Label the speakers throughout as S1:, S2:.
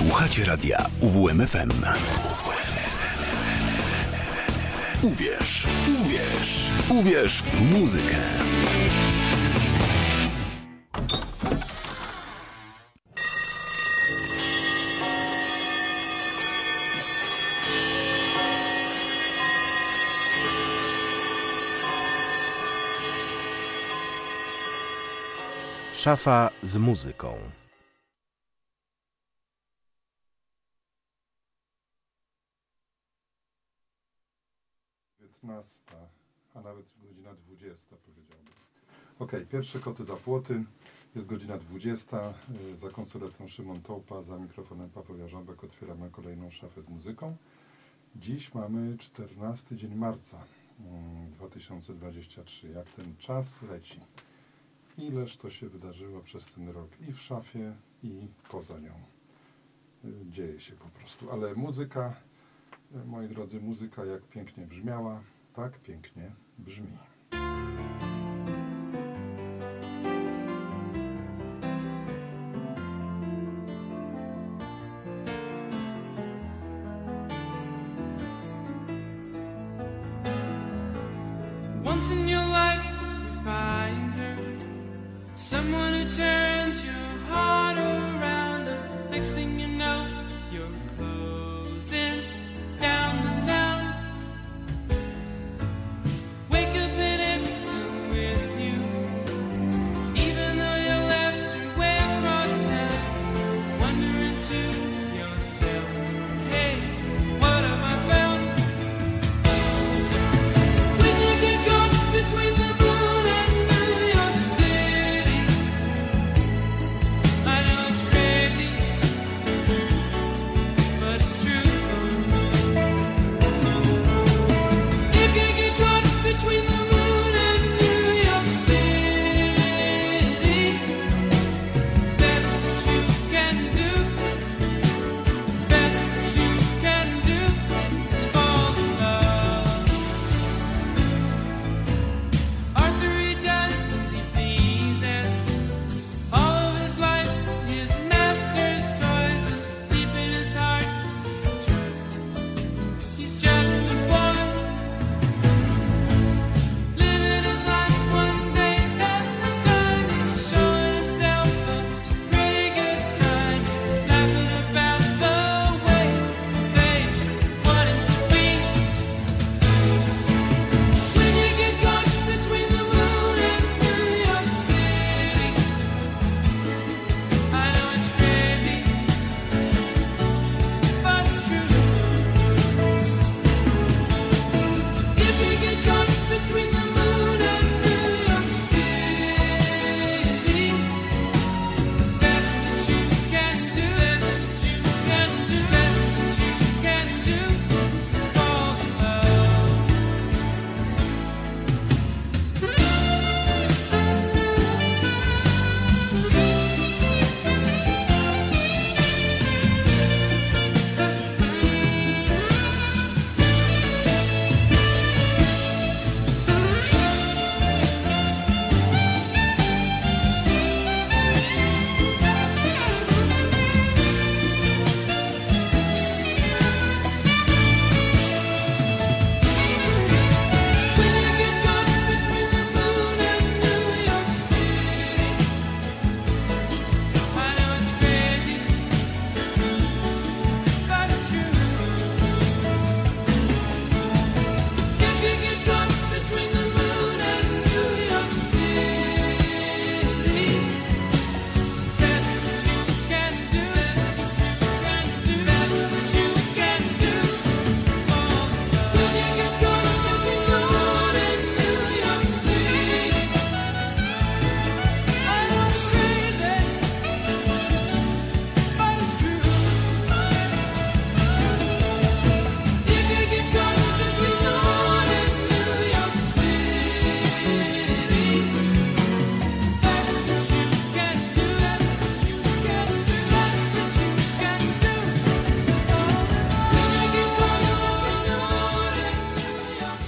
S1: Słuchacie radia UWMFM. Uwierz, uwierz, uwierz w muzykę.
S2: Szafa z muzyką.
S3: A nawet godzina 20, powiedziałbym. Okej, pierwsze koty za płoty. Jest godzina 20. Za konsoletą Szymon Tołpa, za mikrofonem Paweł Jarząbek. Otwieramy kolejną szafę z muzyką. Dziś mamy 14 dzień marca 2023. Jak ten czas leci. Ileż to się wydarzyło przez ten rok i w szafie, i poza nią. Dzieje się po prostu. Ale muzyka, moi drodzy, muzyka jak pięknie brzmiała, tak pięknie brzmi.
S4: Once in your life you find her, someone who turns your heart around, and next thing you know you're closing down the town. Wake up and it's still with you, even though you left your way across town. Wondering to yourself, hey, what have I found? When you get caught between the moon and New York City, I know it's crazy, but it's true. If you get caught between the moon and New York City, best that you can do, best that you can do is fall in love. Arthur, he does as he pleases. All of his life, his master's toys, and deep in his heart, he's just a boy. Living his life one day at a time. He's showing himself a pretty good time. He's laughing about the way they want him to be. When you get caught between the moon and New York City, I know it's crazy, but it's true. If you get caught between the moon and New York City, best that you can do, best that you can do, best that you can do is fall in love. When you get caught between the moon and New York City, I know it's crazy, but it's true. If you get caught between the moon and New York City, best that you can do, best that you can do, best that you can do is fall in love. When you get caught between the moon and New York City, I know it's crazy, but it's true. If you get caught between the moon and New York City, best that you can do, best that you can do, best that you can do is fall in love. When you get caught between the moon and New York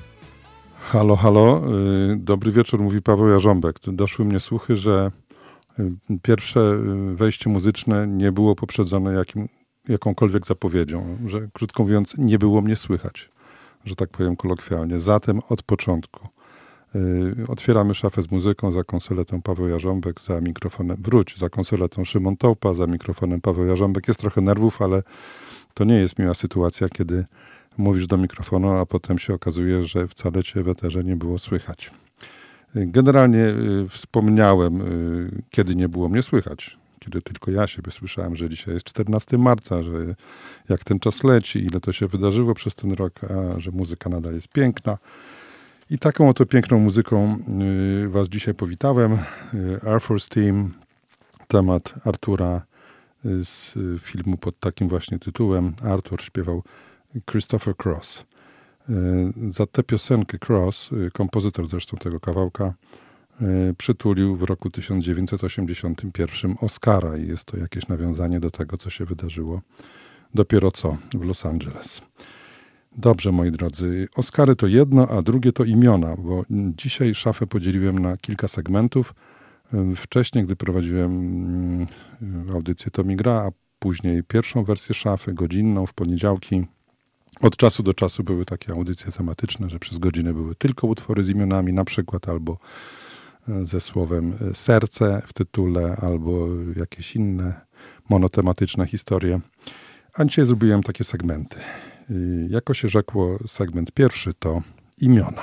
S4: City.
S3: Halo, halo. Dobry wieczór, mówi Paweł Jarząbek. Tu doszły mnie słuchy, że Pierwsze wejście muzyczne nie było poprzedzone jakąkolwiek zapowiedzią, że krótko mówiąc nie było mnie słychać, że tak powiem kolokwialnie. Zatem od początku otwieramy szafę z muzyką, za konsoletą Paweł Jarząbek, za mikrofonem za konsoletą Szymon Tołpa, za mikrofonem Paweł Jarząbek. Jest trochę nerwów, ale to nie jest miła sytuacja, kiedy mówisz do mikrofonu, a potem się okazuje, że wcale cię w eterze nie było słychać. Generalnie wspomniałem, kiedy nie było mnie słychać, kiedy tylko ja siebie słyszałem, że dzisiaj jest 14 marca, że jak ten czas leci, ile to się wydarzyło przez ten rok, a że muzyka nadal jest piękna. I taką oto piękną muzyką was dzisiaj powitałem. Air Force Team, temat Artura z filmu pod takim właśnie tytułem. Artur śpiewał Christopher Cross. Za tę piosenkę Cross, kompozytor zresztą tego kawałka, przytulił w roku 1981 Oscara i jest to jakieś nawiązanie do tego, co się wydarzyło dopiero co w Los Angeles. Dobrze, moi drodzy, Oscary to jedno, a drugie to imiona, bo dzisiaj szafę podzieliłem na kilka segmentów. Wcześniej, gdy prowadziłem audycję To mi gra, a później pierwszą wersję szafy, godzinną w poniedziałki. Od czasu do czasu były takie audycje tematyczne, że przez godzinę były tylko utwory z imionami, na przykład albo ze słowem serce w tytule, albo jakieś inne monotematyczne historie. A dzisiaj zrobiłem takie segmenty. Jako się rzekło, segment pierwszy to imiona.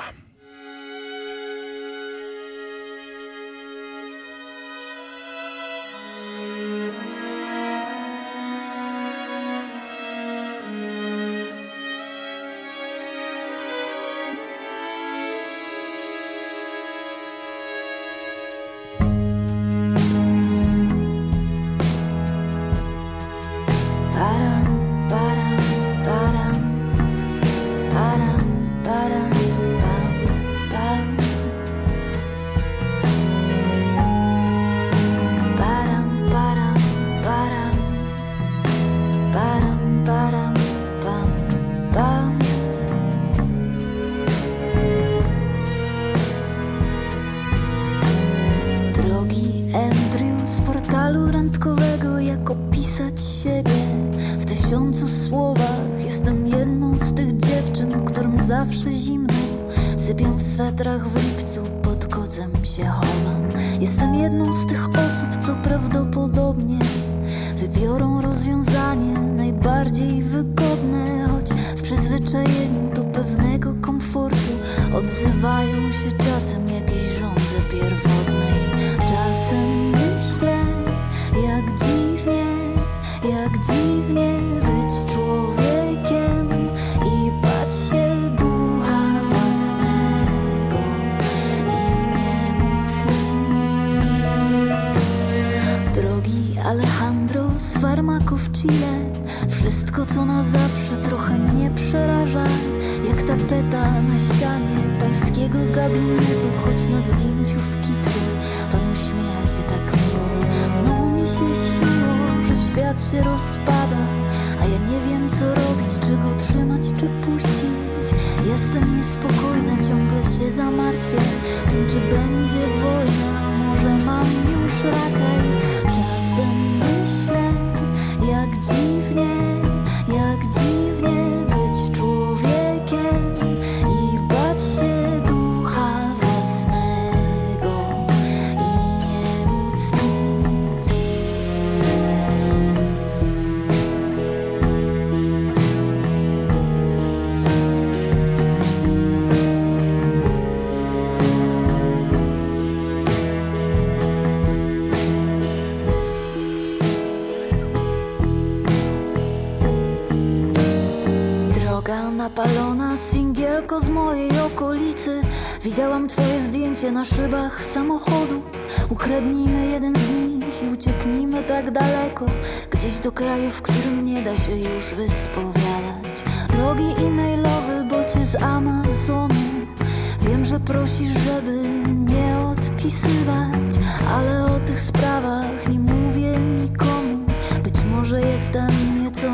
S2: Napalona singielko z mojej okolicy. Widziałam twoje zdjęcie na szybach samochodów. Ukradnijmy jeden z nich i ucieknijmy tak daleko, gdzieś do kraju, w którym nie da się już wyspowiadać. Drogi e-mailowy, bocie z Amazonu. Wiem, że prosisz, żeby nie odpisywać, ale o tych sprawach nie mówię nikomu. Być może jestem nieco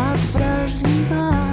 S2: nadwrażliwa.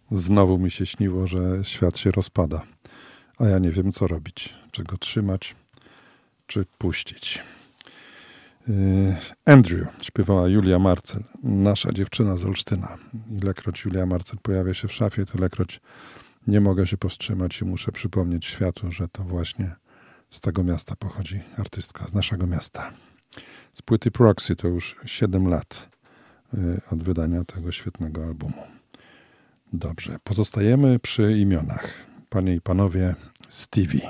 S3: Znowu mi się śniło, że świat się rozpada, a ja nie wiem, co robić. Czy go trzymać, czy puścić. Andrew śpiewała Julia Marcel, nasza dziewczyna z Olsztyna. Ilekroć Julia Marcel pojawia się w szafie, tylekroć nie mogę się powstrzymać i muszę przypomnieć światu, że to właśnie z tego miasta pochodzi artystka, z naszego miasta. Z płyty Proxy to już 7 lat od wydania tego świetnego albumu. Dobrze, pozostajemy przy imionach. Panie i panowie, Stevie.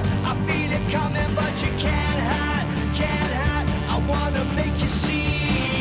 S5: Coming, but you can't hide. I wanna make you see.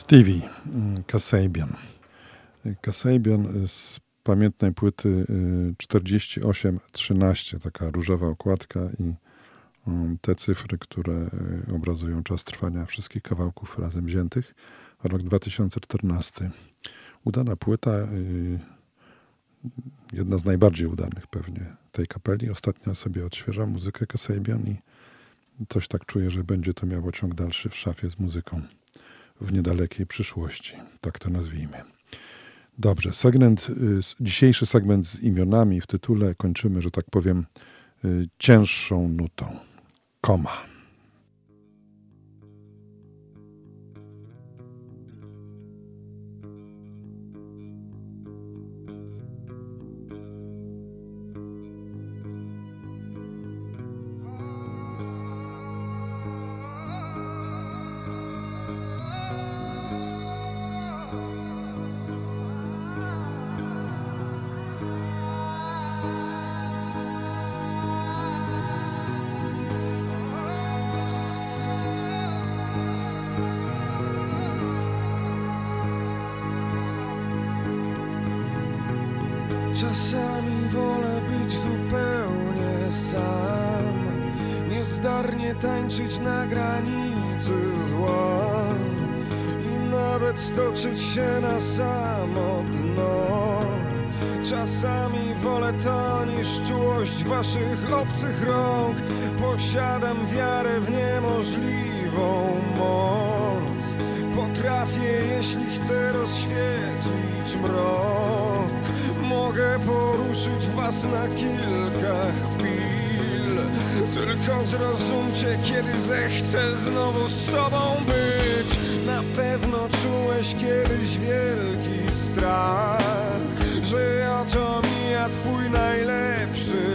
S3: Stevie Kasabian. Kasabian z pamiętnej płyty 4813, taka różowa okładka i te cyfry, które obrazują czas trwania wszystkich kawałków razem wziętych. Rok 2014. Udana płyta, jedna z najbardziej udanych pewnie tej kapeli. Ostatnio sobie odświeżam muzykę Kasabian i coś tak czuję, że będzie to miało ciąg dalszy w szafie z muzyką w niedalekiej przyszłości. Tak to nazwijmy. Dobrze, dzisiejszy segment z imionami w tytule kończymy, że tak powiem, cięższą nutą. Koma.
S5: Czasami wolę być zupełnie sam, niezdarnie tańczyć na granicy zła i nawet stoczyć się na samo dno. Czasami wolę to niż czułość waszych obcych rąk. Posiadam wiarę w niemożliwą moc. Potrafię, jeśli chcę, rozświetlić mrok. Mogę poruszyć was na kilka chwil. Tylko zrozumcie, kiedy zechcę znowu z sobą być. Na pewno czułeś kiedyś wielki strach, że oto mija twój najlepszy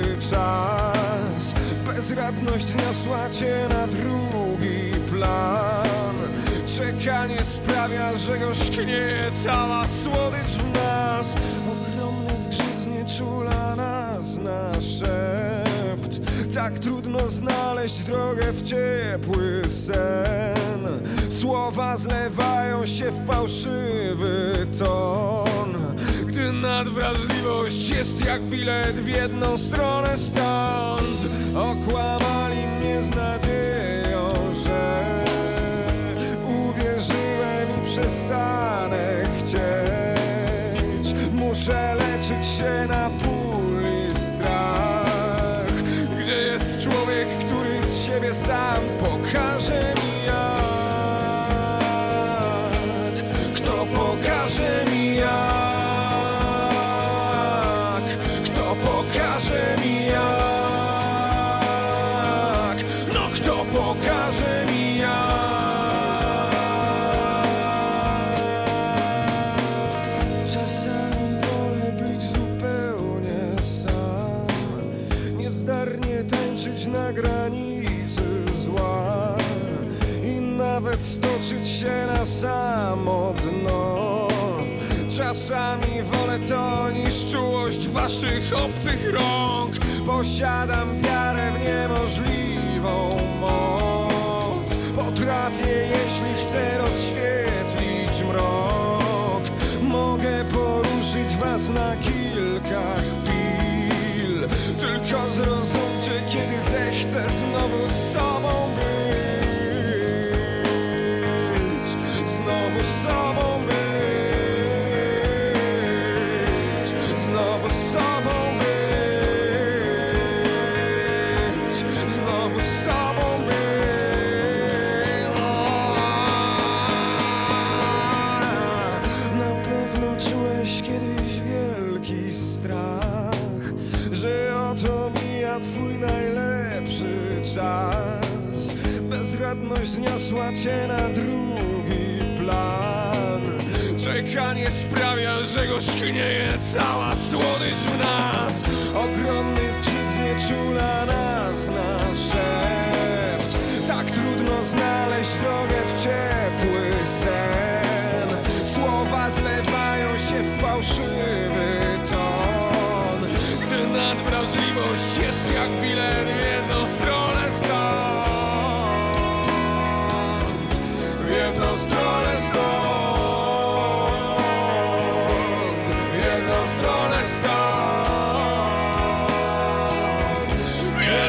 S5: czas. Bezradność zniosła cię na drugi plan. Czekanie sprawia, że gorzknieje cała słodycz w nas. Ogromny zgrzyt znieczula nas na szept. Tak trudno znaleźć drogę w ciepły sen. Słowa zlewają się w fałszywy ton. Gdy nadwrażliwość jest jak bilet w jedną stronę stąd. Okłamali mnie z nadzieją, że uwierzyłem i przestanę chcieć. Muszę leczyć się na ból i strach. Gdzie jest człowiek, który z siebie sam pokaże mi jak? Kto pokaże mi jak? Kto pokaże mi jak? No kto pokaże mi jak? Czasami wolę być zupełnie sam, niezdarnie tańczyć na granicy zła i nawet stoczyć się na samo dno. Czasami wolę to niż czułość waszych obcych rąk. Posiadam wiarę w niemożliwą moc. Potrafię, jeśli chcę, rozświetlić mrok. Mogę poruszyć was na kilka chwil. Tylko zrozumcie, kiedy zechcę znowu z sobą być. Znowu z sobą być. Znowu z sobą być. Znowu z sobą być. Na pewno czułeś kiedyś wielki strach, że oto mija twój najlepszy czas. Bezradność zniosła cię na drugi plan. Czekanie sprawia, że gorzknieje cała słodycz w nas. Ogromny zgrzyt znieczula nas na szept. Tak trudno znaleźć drogę w ciepły sen. Słowa zlewają się w fałszywy ton. Gdy nadwrażliwość jest jak bilet w jedną stronę stąd. W jedną stronę stąd.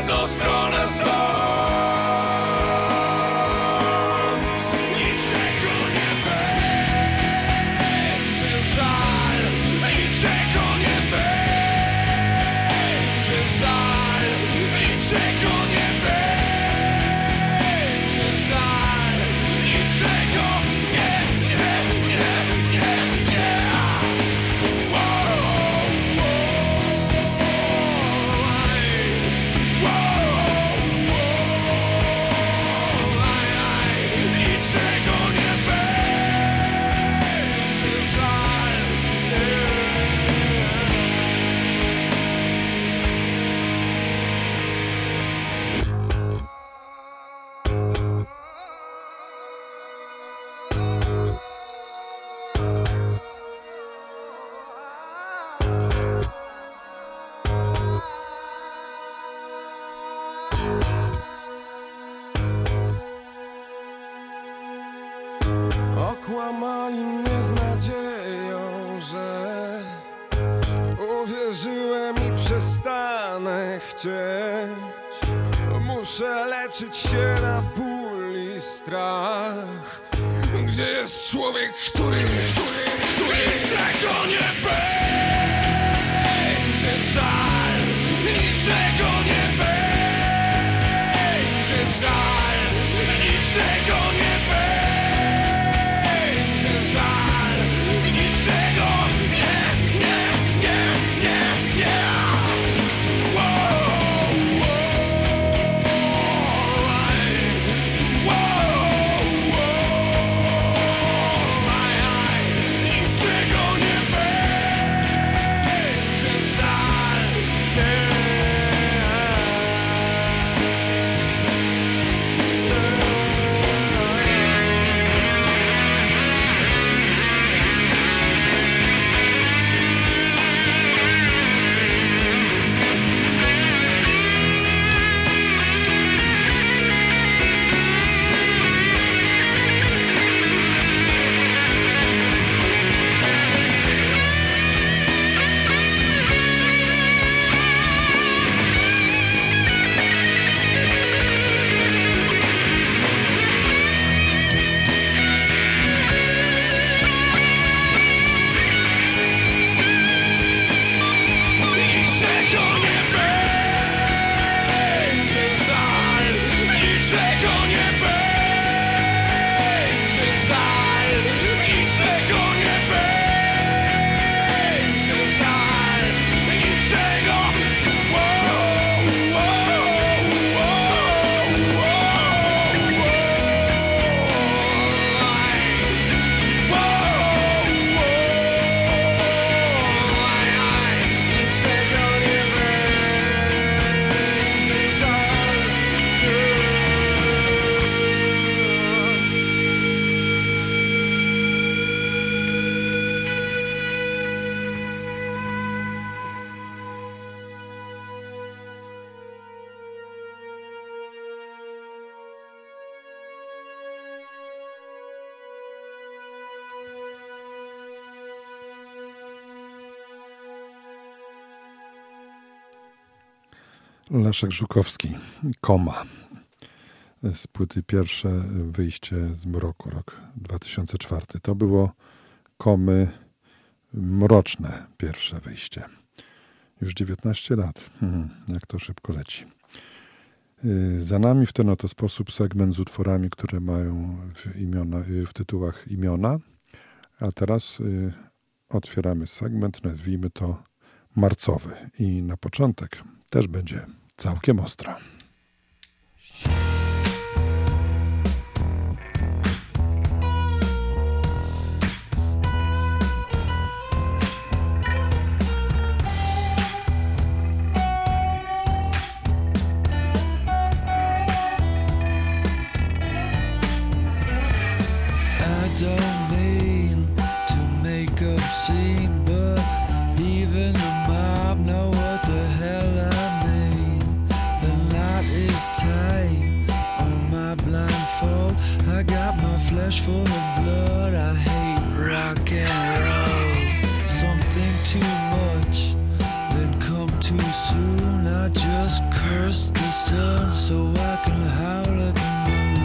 S5: ciemną stronę stąd. Niczego nie będzie żal, niczego nie będzie żal, niczego nie będzie żal, niczego nie. Okłamali mnie z nadzieją, że uwierzyłem i przestanę chcieć. Muszę leczyć się na ból i strach. Gdzie jest człowiek, który niczego nie będzie żal, niczego nie będzie żal, niczego nie będzie żal, niczego nie. Niczego nie będzie żal.
S3: Leszek Żukowski, Koma. Z płyty Pierwsze wyjście z mroku, rok 2004. To było Komy mroczne pierwsze wyjście. Już 19 lat. Jak to szybko leci. Za nami w ten oto sposób segment z utworami, które mają w tytułach imiona. A teraz otwieramy segment, nazwijmy to marcowy. I na początek też będzie całkiem ostro.
S6: Don't mean to make a scene, but even the mob know what the hell I mean. The knot is tight on my blindfold. I got my flesh full of blood. I hate rock and roll. Something too much, then come too soon. I just curse the sun so I can howl at the moon.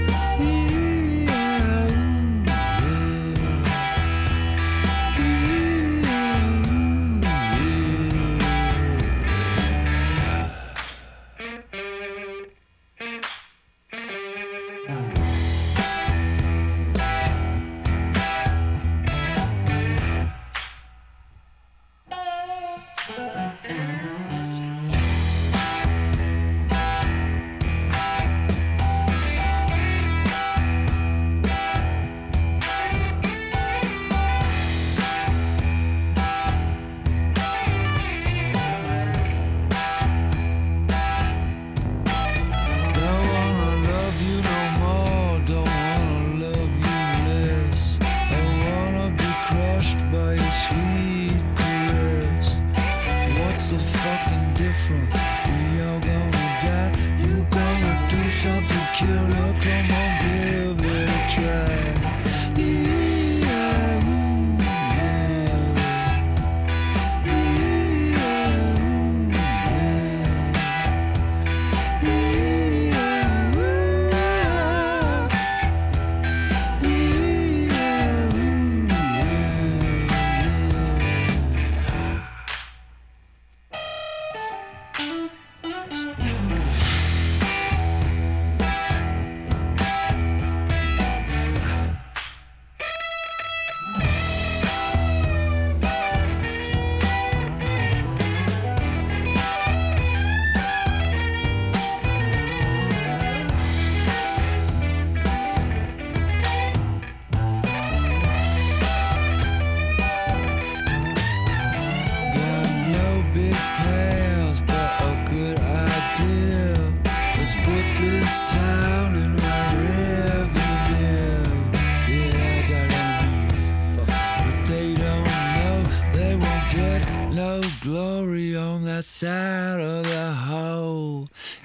S6: Side of the hole.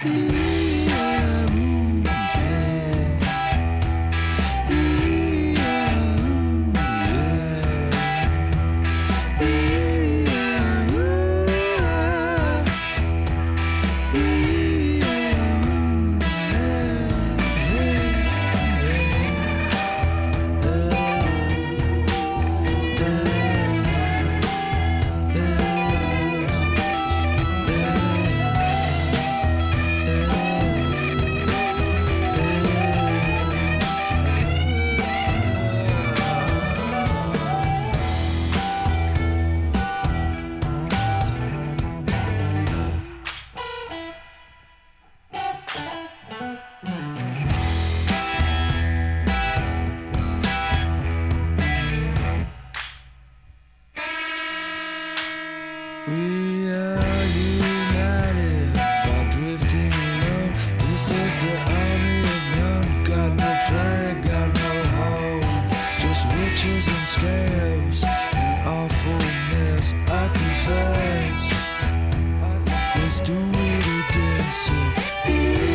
S6: We are united by drifting alone. This is the army of none. Got no flag, got no home. Just witches and scabs and awfulness. I confess. Let's do it again. So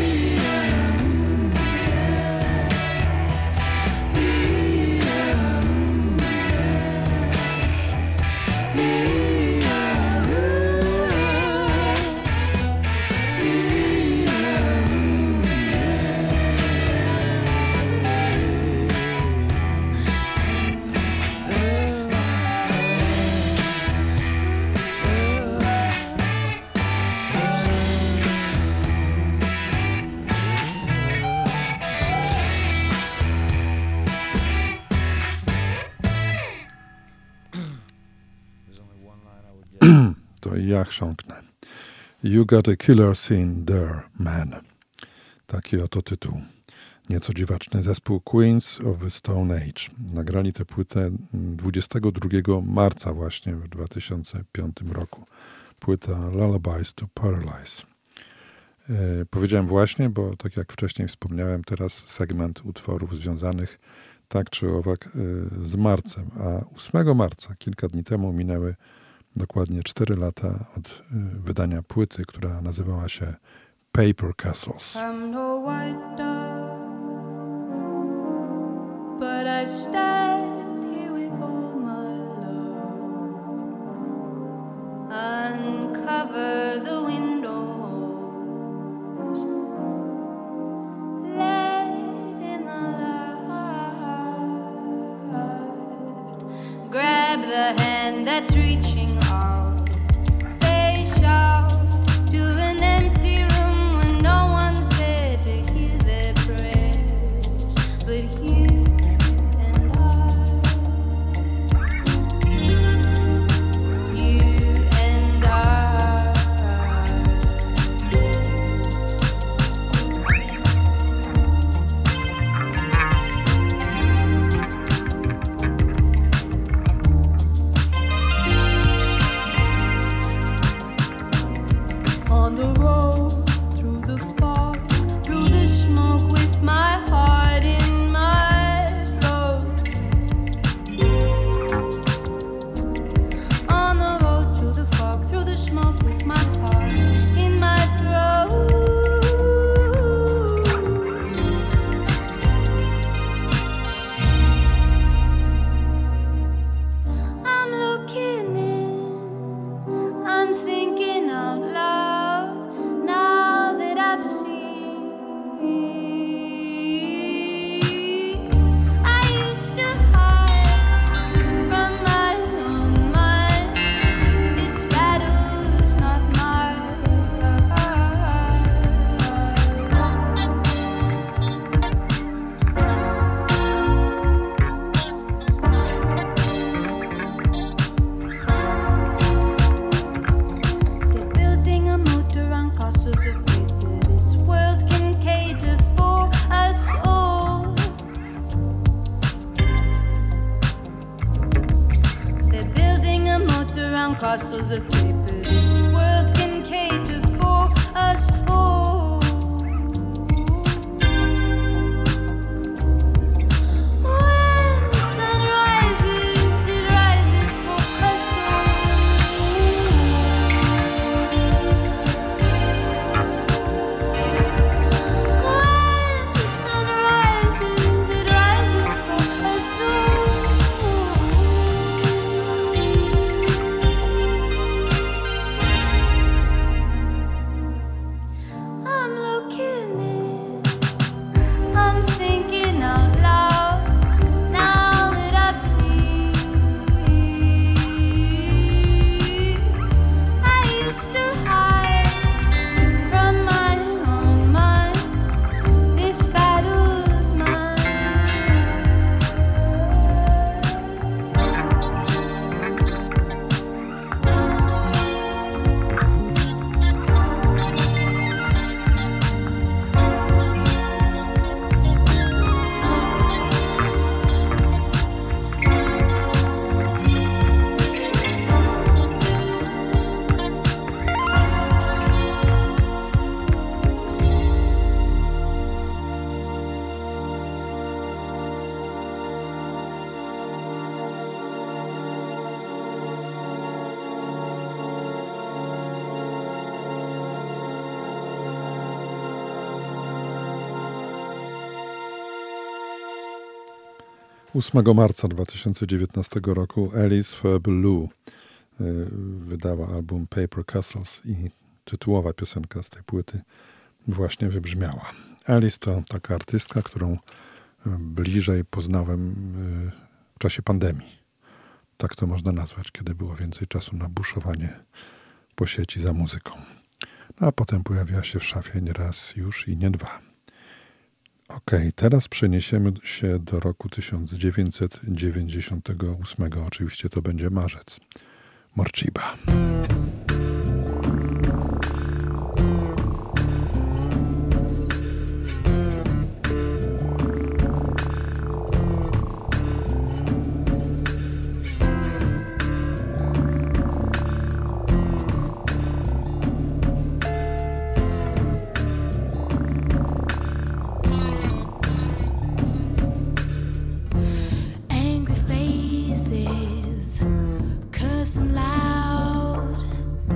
S3: To ja chrząknę. You got a killer scene there, man. Taki oto tytuł. Nieco dziwaczny zespół Queens of the Stone Age. Nagrali tę płytę 22 marca właśnie w 2005 roku. Płyta Lullabies to Paralyze. Powiedziałem właśnie, bo tak jak wcześniej wspomniałem, teraz segment utworów związanych tak czy owak z marcem. A 8 marca, kilka dni temu, minęły dokładnie 4 lata od wydania płyty, która nazywała się Paper Castles.
S7: I'm no white dove, but I stand here with all my love.
S2: uncover the windows. Let in the light. Grab the hand that's reaching out. They shout to an empty room when no one's there to hear their prayers, but you and I. You and I. On the road, through the fog, through the smoke, with my heart in my throat. On the road, through the fog, through the smoke, with my heart in my throat. I'm looking in, I'm thinking out loud now that I've seen. I used to hide from my own mind. This battle's not mine. They're building a moat around castles of paper. This world can cater for us all. They're building a moat around castles of paper. This world can cater for us all. When the sun rises, it rises for us When the sun rises, it rises for us I'm looking in, I'm thinking out loud now that I've seen. I used to hide from my own mind. This battle's mine.
S3: Ósmego marca 2019 roku Alice Fairbairn wydała album Paper Castles i tytułowa piosenka z tej płyty właśnie wybrzmiała. Alice to taka artystka, którą bliżej poznałem w czasie pandemii. Tak to można nazwać, kiedy było więcej czasu na buszowanie po sieci za muzyką. No, a potem pojawiła się w szafie nie raz już i nie dwa. Okej, teraz przeniesiemy się do roku 1998. Oczywiście to będzie marzec. Morciba.
S2: Angry faces, cursing loud.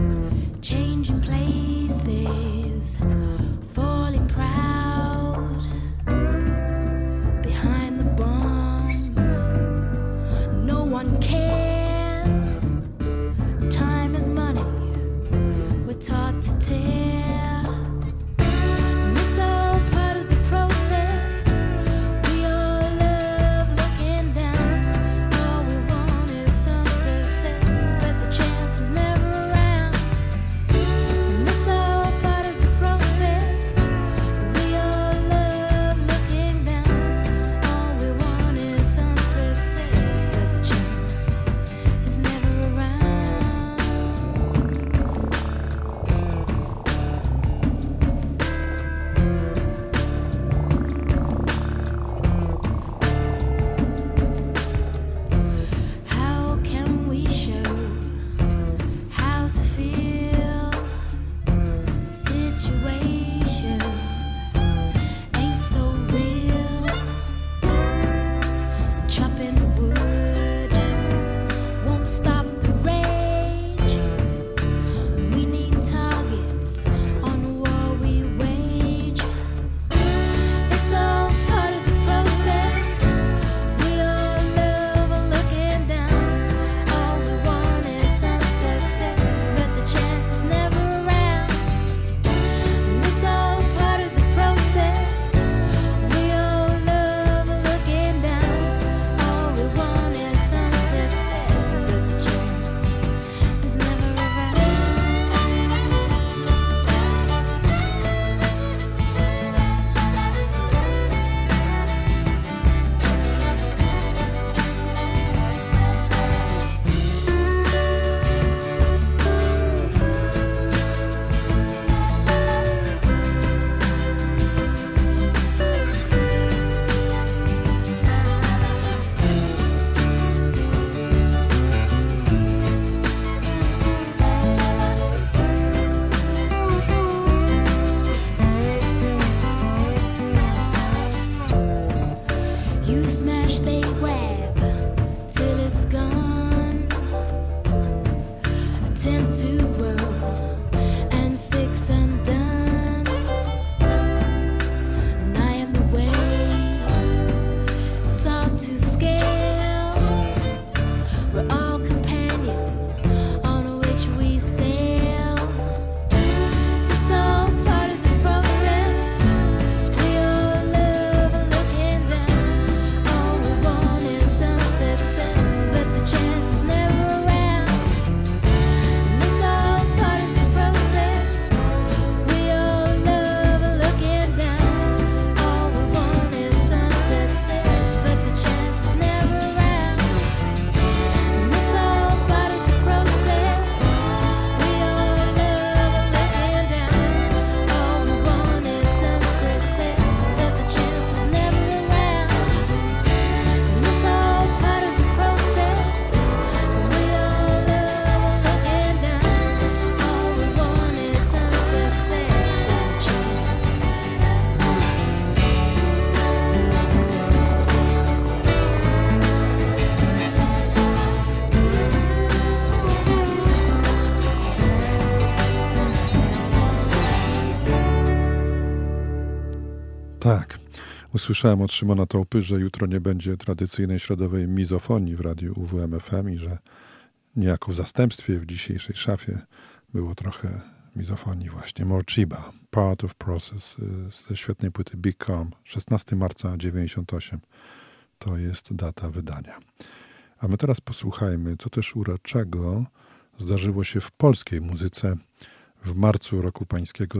S3: Tak. Usłyszałem od Szymona Tołpy, że jutro nie będzie tradycyjnej środowej mizofonii w radiu UWMFM i że niejako w zastępstwie w dzisiejszej szafie było trochę mizofonii właśnie. Morchiba, Part of Process ze świetnej płyty Big Calm, 16 marca 98. To jest data wydania. A my teraz posłuchajmy, co też uroczego zdarzyło się w polskiej muzyce w marcu roku pańskiego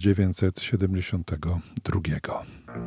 S3: 1972.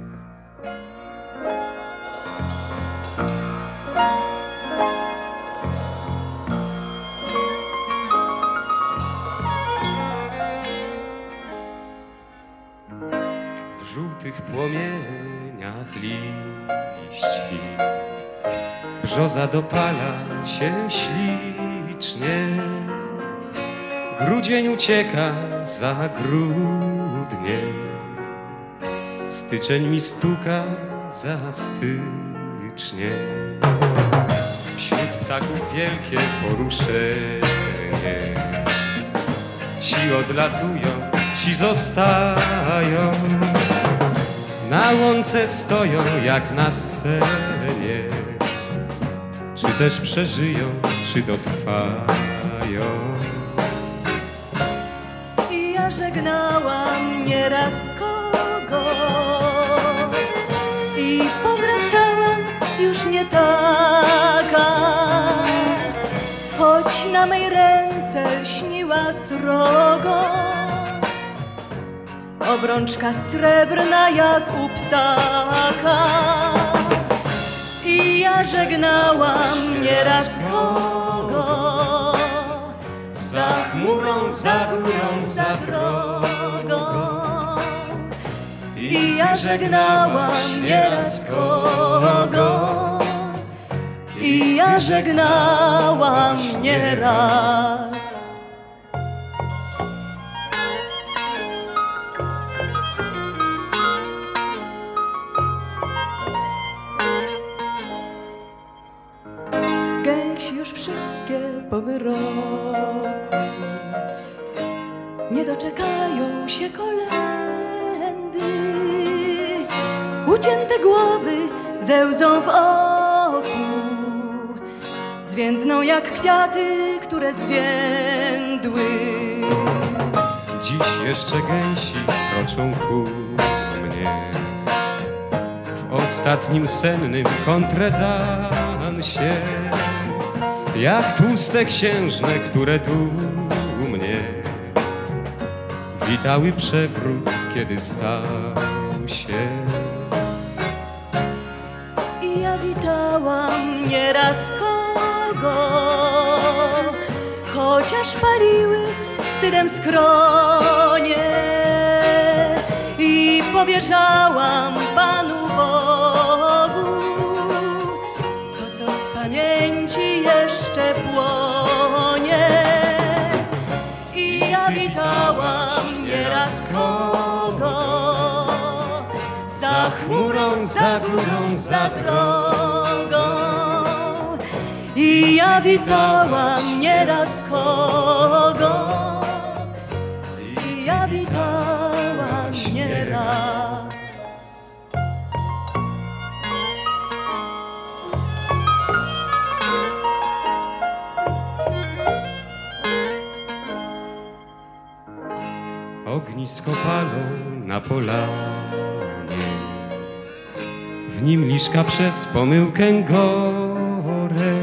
S8: W żółtych płomieniach liści brzoza dopala się ślicznie. Grudzień ucieka za grudnie, styczeń mi stuka za stycznie. Wśród ptaków wielkie poruszenie, ci odlatują, ci zostają, na łące stoją jak na scenie. Czy też przeżyją, czy dotrwają?
S9: I ja żegnałam nieraz kogo i powracałam już nie taka, choć na mej ręce lśniła srogo, obrączka srebrna jak u ptaka. I ja żegnałam nieraz kogo,
S8: za chmurą, za górą, za drogą.
S9: I ja żegnałam nieraz kogo, i ja żegnałam nieraz. Gęsi już wszystkie po wyroku nie doczekają się kolędy. Ucięte głowy ze łzą w oku zwiędną jak kwiaty, które zwiędły.
S8: Dziś jeszcze gęsi kroczą ku mnie w ostatnim sennym kontredansie, jak tłuste księżne, które dumnie witały przewrót, kiedy stał się.
S9: I ja witałam nieraz kogo, chociaż paliły wstydem skronie, i powierzałam Panu Bogu to, co w pamięci jeszcze płonie. I ja witałam nieraz kogo, za chmurą, za górą, za drogą. I ja witałam nieraz kogo, i ja witałam nieraz.
S8: Ognisko palą na polanie, w nim liszka przez pomyłkę gore.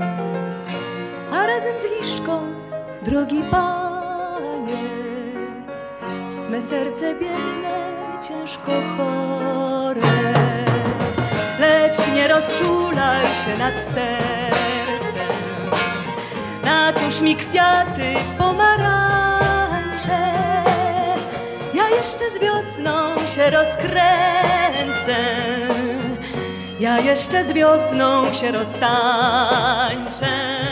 S9: A razem z liszką, drogi Panie, me serce biedne, ciężko chore. Lecz nie rozczulaj się nad sercem, natuż mi kwiaty pomarańcze. Ja jeszcze z wiosną się rozkręcę, ja jeszcze z wiosną się roztańczę.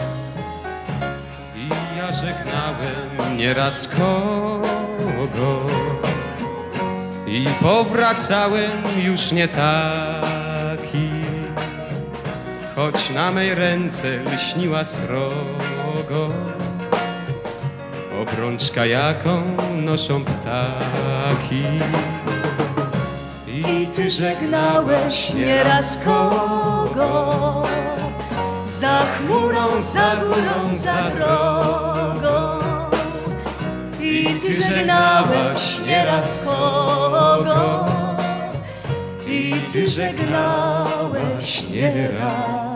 S8: I ja żegnałem nieraz kogo i powracałem już nie taki, choć na mej ręce lśniła srogo, obrączka jaką noszą ptaki. I
S9: I ty żegnałeś nieraz kogo? Za chmurą, za górą, za drogą. I ty żegnałeś nieraz kogo? I ty żegnałeś nieraz.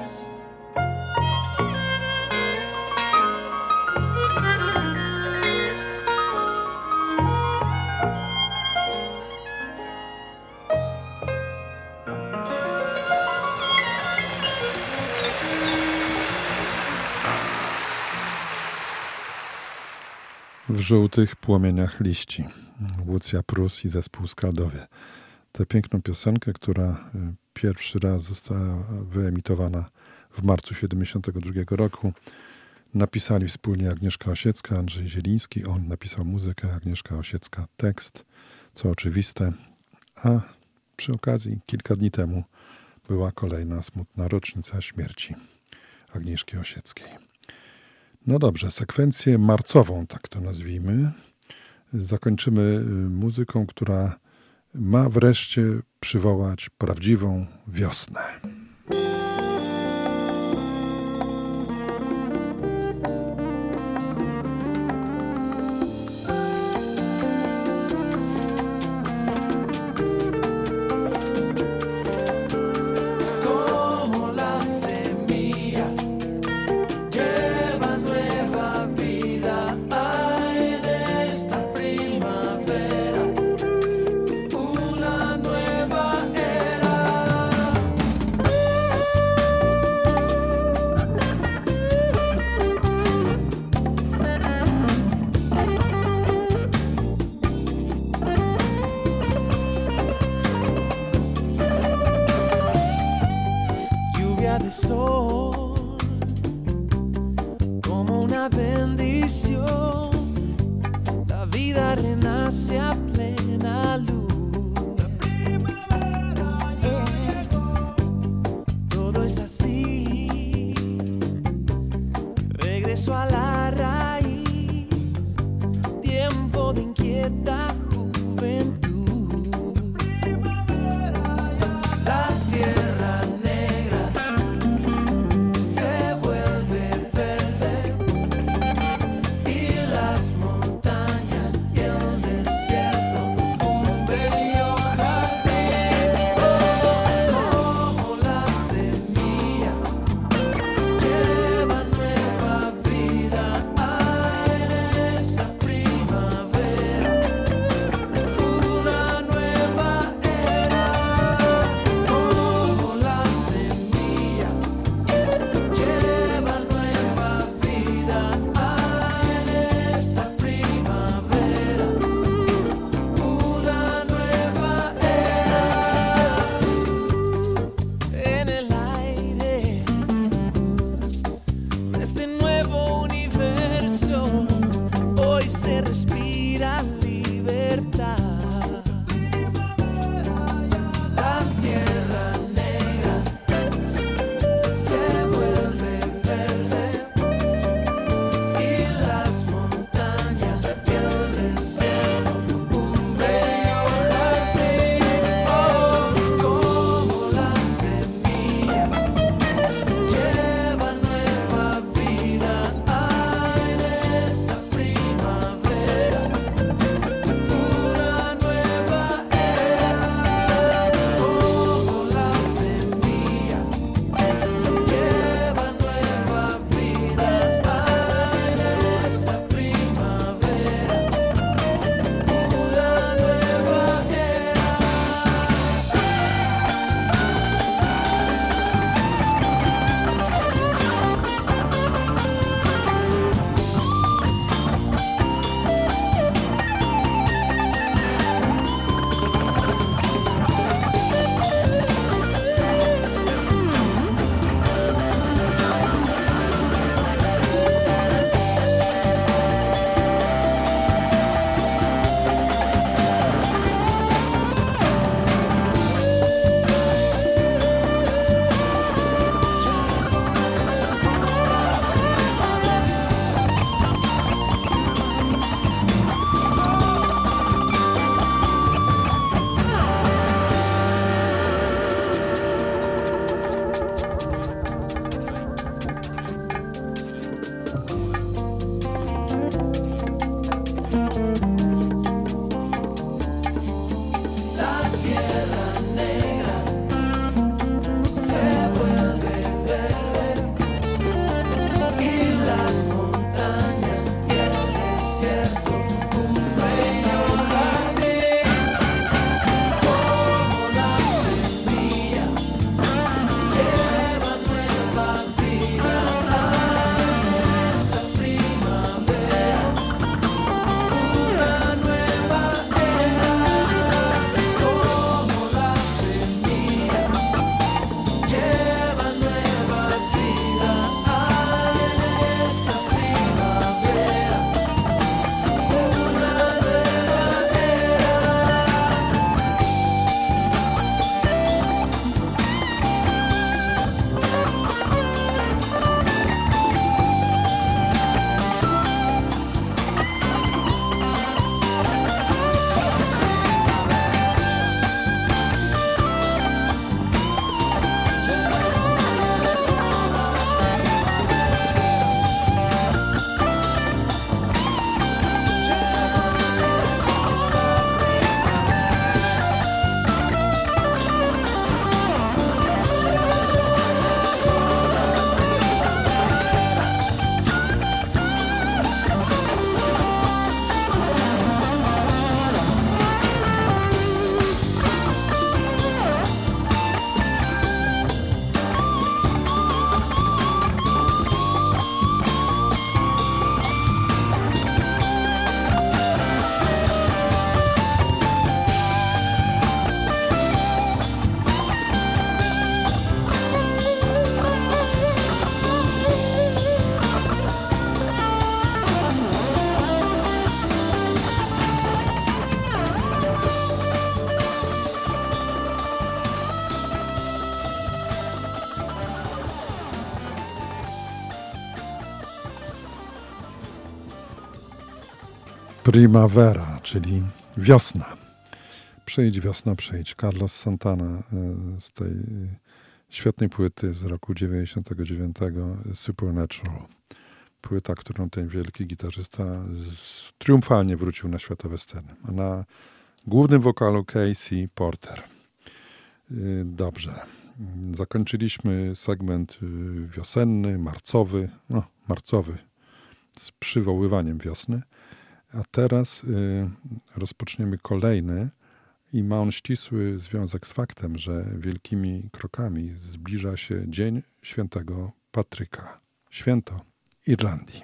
S3: W żółtych płomieniach liści. Łucja Prus i zespół Skaldowie. Tę piękną piosenkę, która pierwszy raz została wyemitowana w marcu 1972 roku, napisali wspólnie Agnieszka Osiecka, Andrzej Zieliński. On napisał muzykę, Agnieszka Osiecka tekst, co oczywiste. A przy okazji kilka dni temu była kolejna smutna rocznica śmierci Agnieszki Osieckiej. No dobrze, sekwencję marcową, tak to nazwijmy, zakończymy muzyką, która ma wreszcie przywołać prawdziwą wiosnę.
S10: Montañas y el desierto
S3: Primavera, czyli wiosna. Przyjdź wiosna, przyjdź. Carlos Santana z tej świetnej płyty z roku 99, Supernatural. Płyta, którą ten wielki gitarzysta triumfalnie wrócił na światowe sceny. A na głównym wokalu Casey Porter. Dobrze. Zakończyliśmy segment wiosenny, marcowy, z przywoływaniem wiosny. A teraz rozpoczniemy kolejny i ma on ścisły związek z faktem, że wielkimi krokami zbliża się Dzień Świętego Patryka. Święto Irlandii.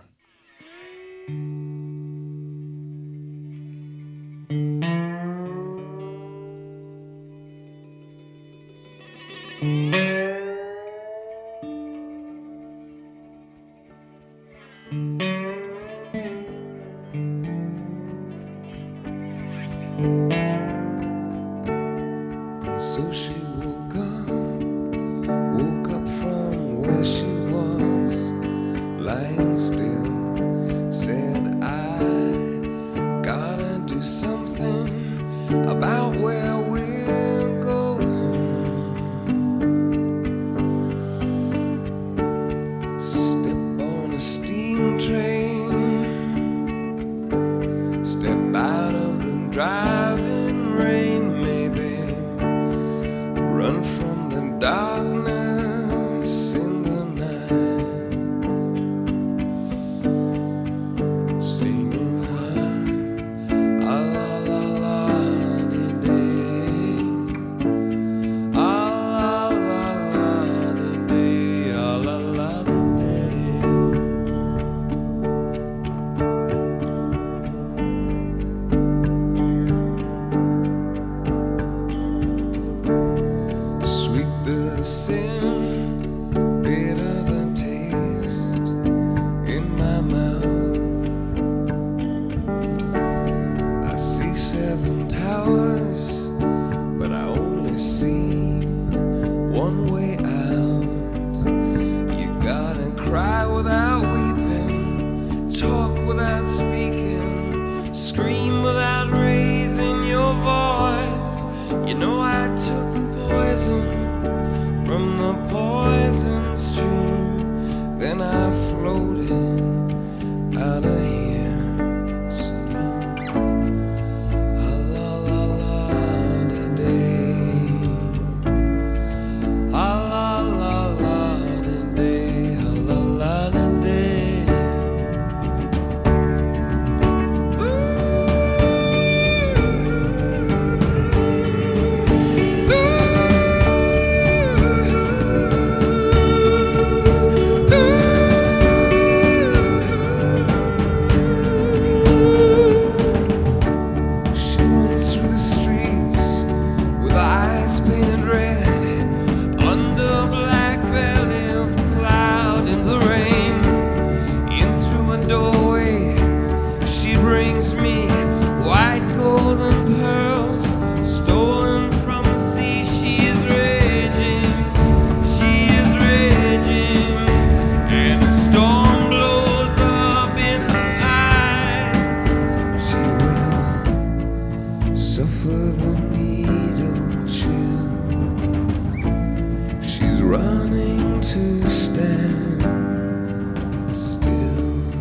S5: So she woke up from where she was, lying still, said, I gotta do something about where we're going. Step on a steam train, step out of the driving rain, maybe run from the darkness in the night, singing high, ah la la la di day, ah la la la di day, ah la la di day. Sweet the sin, bitter the taste in my mouth. I see 7 towers, but I only see one way out. You gotta cry without weeping, talk without speaking, scream without raising your voice. You know I took the poison from the poison stream, then I floated out of here, singing, ah la la la di day, ah la la la di day, ah la la di day. She runs through the streets with eyes painted red, under a black belly of cloud in the rain. In through a doorway, she brings me white golden pearls, stolen from the sea. She is raging, and the storm blows up in her eyes. She will suffer the needle chill. She's running to stand still.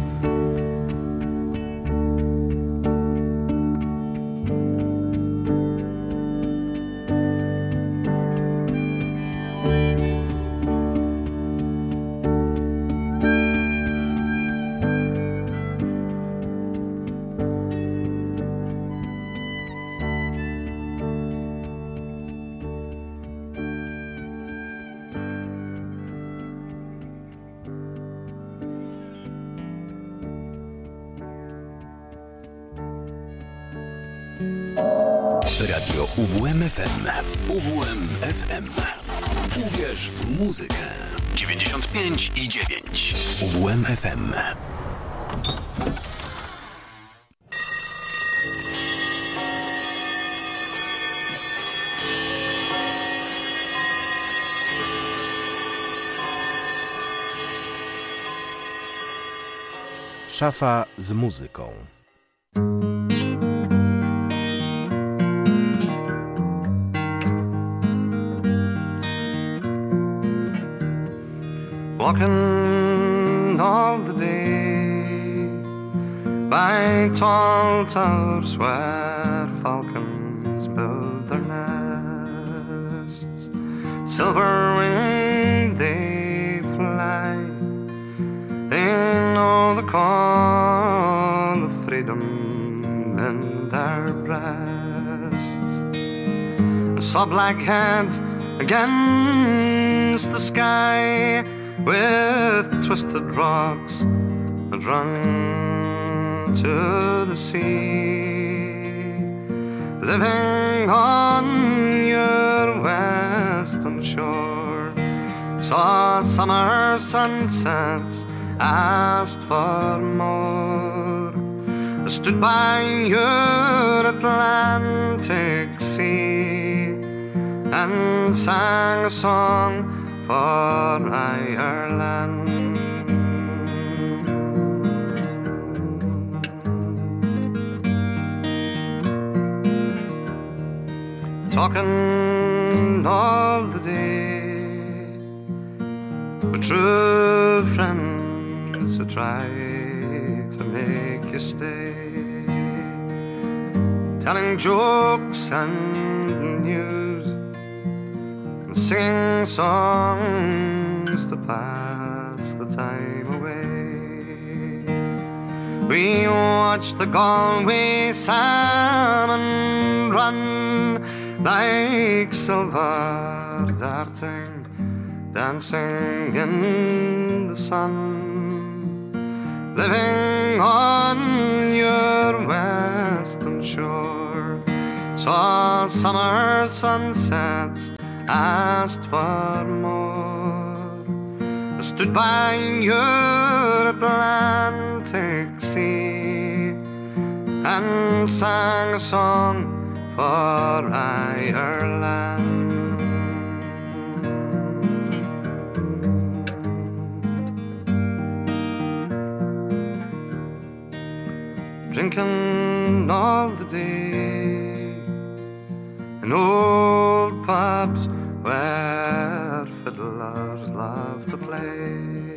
S1: Radio UWM-FM. UWM-FM. Uwierz w muzykę. 95,9. UWM-FM.
S10: Szafa z muzyką. walking all the day by tall towers where falcons build their nests. Silver-winged they fly, they know the call of freedom in their breasts. I saw black head against the sky with twisted rocks that run to the sea, living on your western shore. Saw summer sunsets, asked for more. I stood by your Atlantic sea and sang a song for Ireland. Talking all the day with true friends who try to make you stay, telling jokes and news, singing songs to pass the time away. We watch the Galway salmon run like silver darting, dancing in the sun, living on your western shore. Saw summer sunsets, asked for more. I stood by your Atlantic sea and sang a song for Ireland. Drinking all the day in old pubs where fiddlers love to play.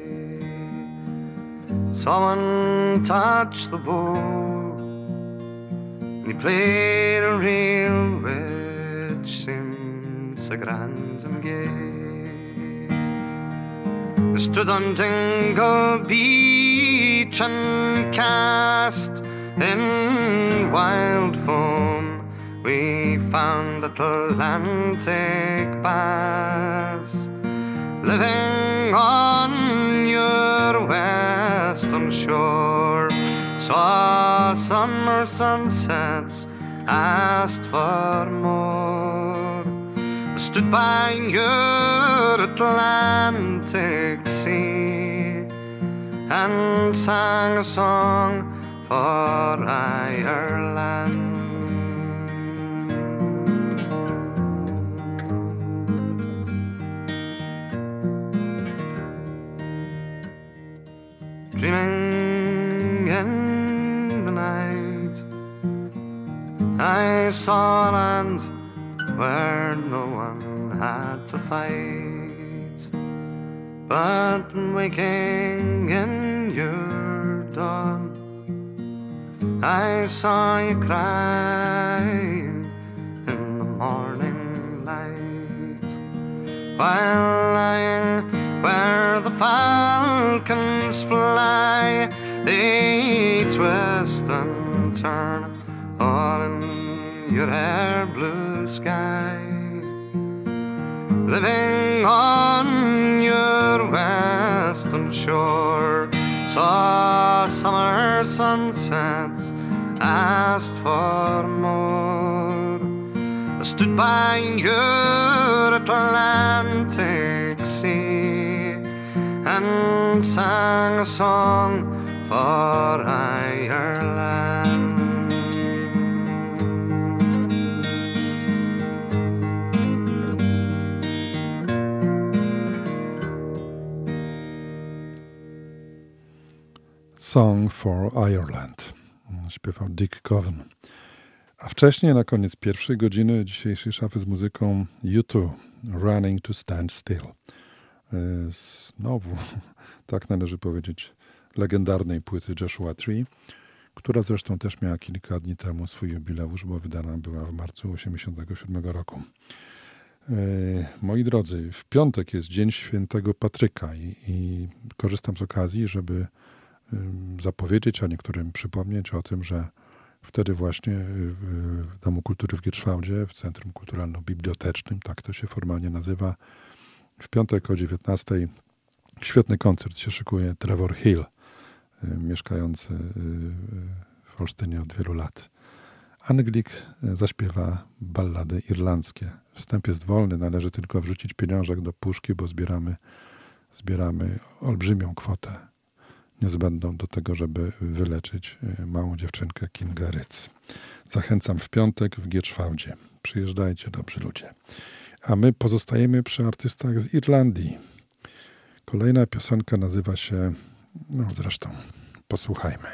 S10: Someone touched the bow and he played a reel which seemed so grand and gay. We stood on Dingle Beach and cast in wild foam. We found Atlantic bass, living on your western shore. Saw summer sunsets, asked for more. I stood by your Atlantic sea and sang a song for Ireland. Dreaming in the night, I saw a land where no one had to fight, but waking in your dawn, I saw you crying in the morning light, while lying where the falcons fly. They twist and turn all in your air blue sky, living on your western shore. Saw summer sunsets, asked for more. I stood by your Atlantic sea and sang a song for Ireland.
S3: Song for Ireland. Śpiewał Dick Coven. A wcześniej, na koniec pierwszej godziny dzisiejszej szafy z muzyką, U2, Running to Stand Still. znowu, tak należy powiedzieć, legendarnej płyty Joshua Tree, która zresztą też miała kilka dni temu swój jubileusz, bo wydana była w marcu 1987 roku. Moi drodzy, w piątek jest Dzień Świętego Patryka i korzystam z okazji, żeby zapowiedzieć, a niektórym przypomnieć o tym, że wtedy właśnie w Domu Kultury w Gietrzwałdzie, w Centrum Kulturalno-Bibliotecznym, tak to się formalnie nazywa, w piątek o 19:00 świetny koncert się szykuje. Trevor Hill, mieszkający w Olsztynie od wielu lat. Anglik zaśpiewa ballady irlandzkie. Wstęp jest wolny, należy tylko wrzucić pieniążek do puszki, bo zbieramy olbrzymią kwotę niezbędną do tego, żeby wyleczyć małą dziewczynkę Kingę Ryc. Zachęcam w piątek w Gietrzwałdzie. Przyjeżdżajcie, dobrzy ludzie. A my pozostajemy przy artystach z Irlandii. Kolejna piosenka nazywa się, zresztą posłuchajmy.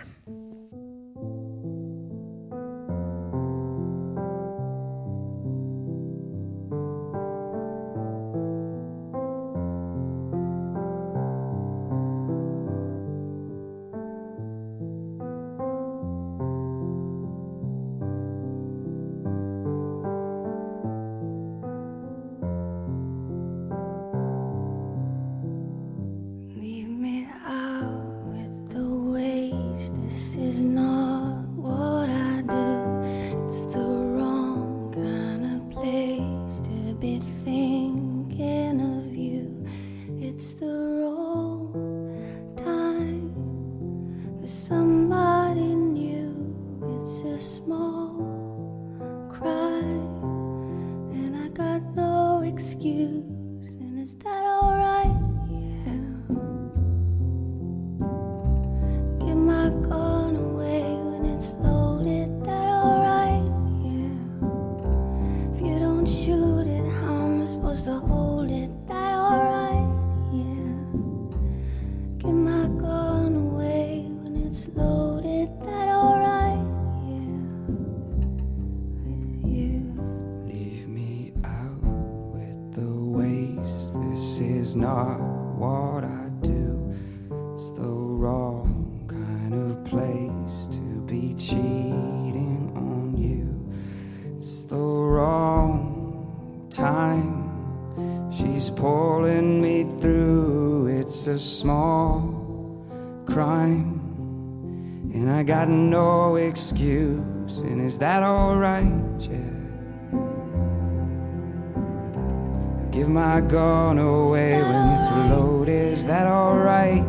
S3: Gone away when it's loaded, is that alright?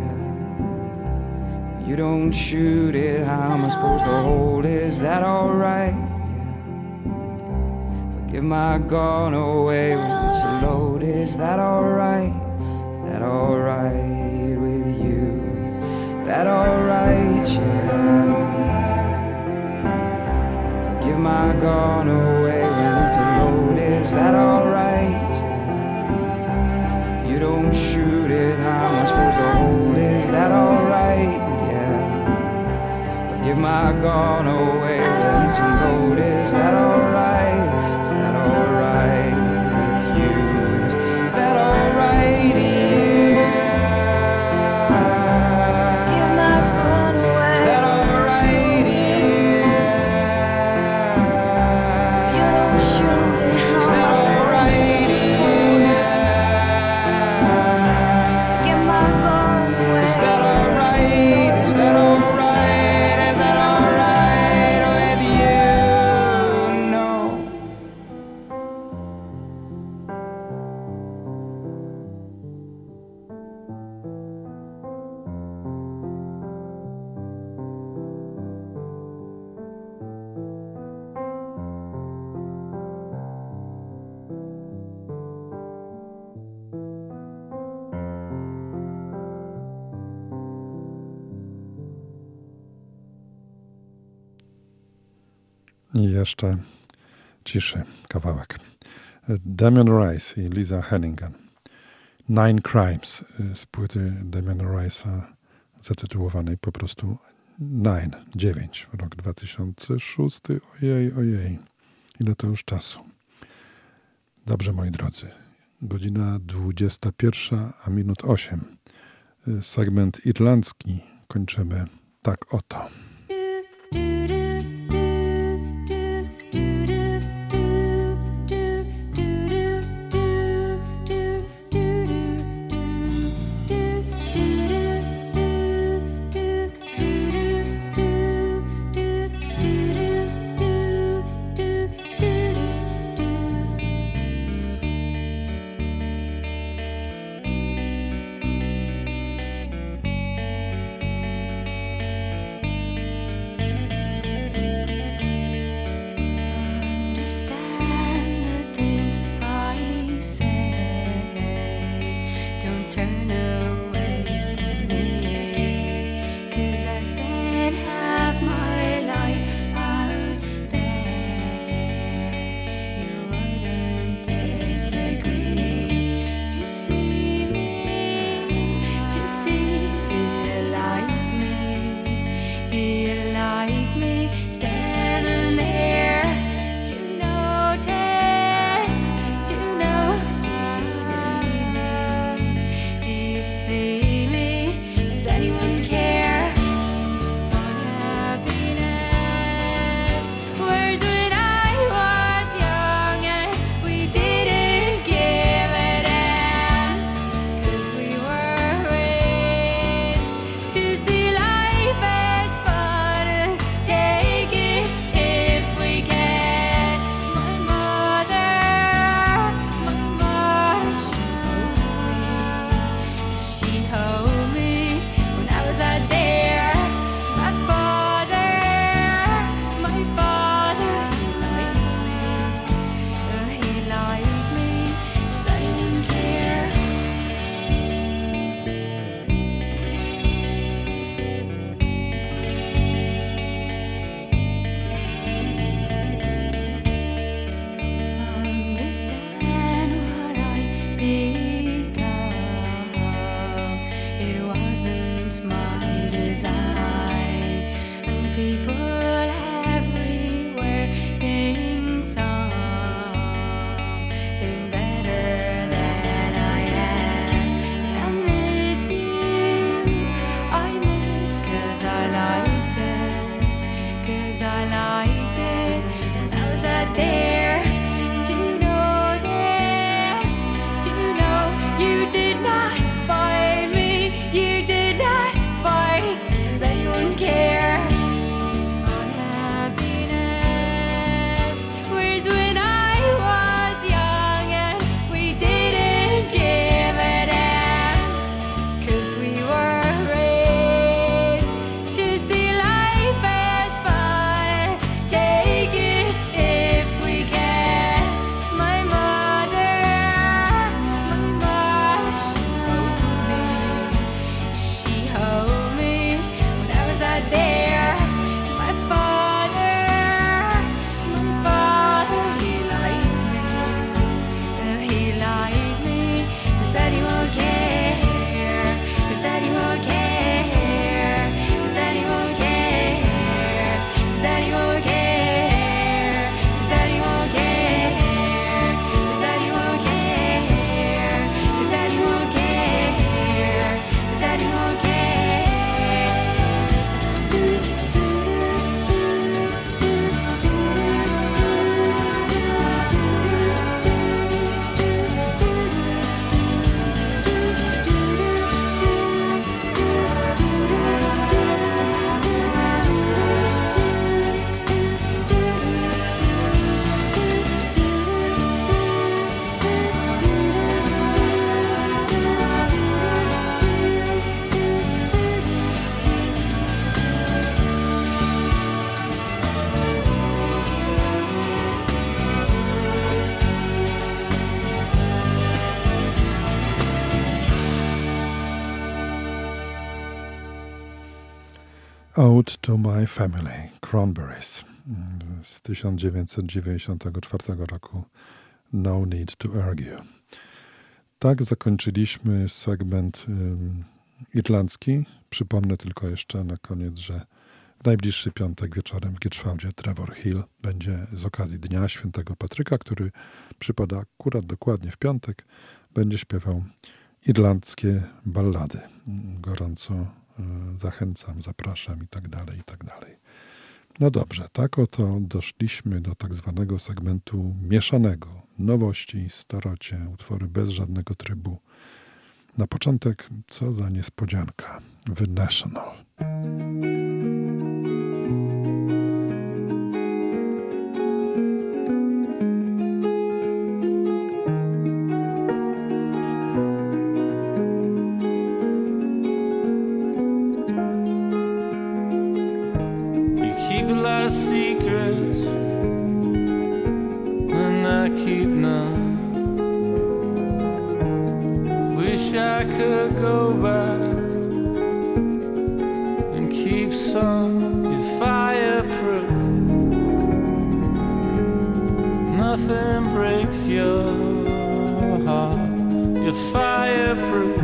S3: Yeah. You don't shoot it, how am I supposed to hold it, is that alright? Yeah. Forgive my gone away when it's loaded, is that alright? Is that alright with you? Is that alright? Yeah. Forgive my gone away when it's loaded, is that alright? You don't shoot it, how am I supposed to hold it? Is that alright? Yeah. Forgive my gone away when it's loaded. Is that alright? Is that alright with you? Is that alright? Yeah. Forgive my gone away. Is that alright? Yeah. You don't shoot it. Is that alright? Is that alright? Is that alright? Is that alright with you? No. I jeszcze ciszy kawałek. Damien Rice i Lisa Hennigan. Nine Crimes z płyty Damiana Rice'a zatytułowanej po prostu 9, rok 2006. Ojej, ile to już czasu. Dobrze, moi drodzy, Godzina 21, a minut 8. Segment irlandzki kończymy tak oto. Ode to My Family, Cranberries z 1994 roku, No Need to Argue. Tak zakończyliśmy segment irlandzki. Przypomnę tylko jeszcze na koniec, że najbliższy piątek wieczorem w Gietrzwałdzie Trevor Hill będzie z okazji Dnia Świętego Patryka, który przypada akurat dokładnie w piątek. Będzie śpiewał irlandzkie ballady. Gorąco zachęcam, zapraszam i tak dalej, i tak dalej. No dobrze, tak oto doszliśmy do tak zwanego segmentu mieszanego. Nowości, starocie, utwory bez żadnego trybu. Na początek, co za niespodzianka. The National.
S11: Secrets and I keep none. Wish I could go back and keep some. You're fireproof. Nothing breaks your heart. You're fireproof.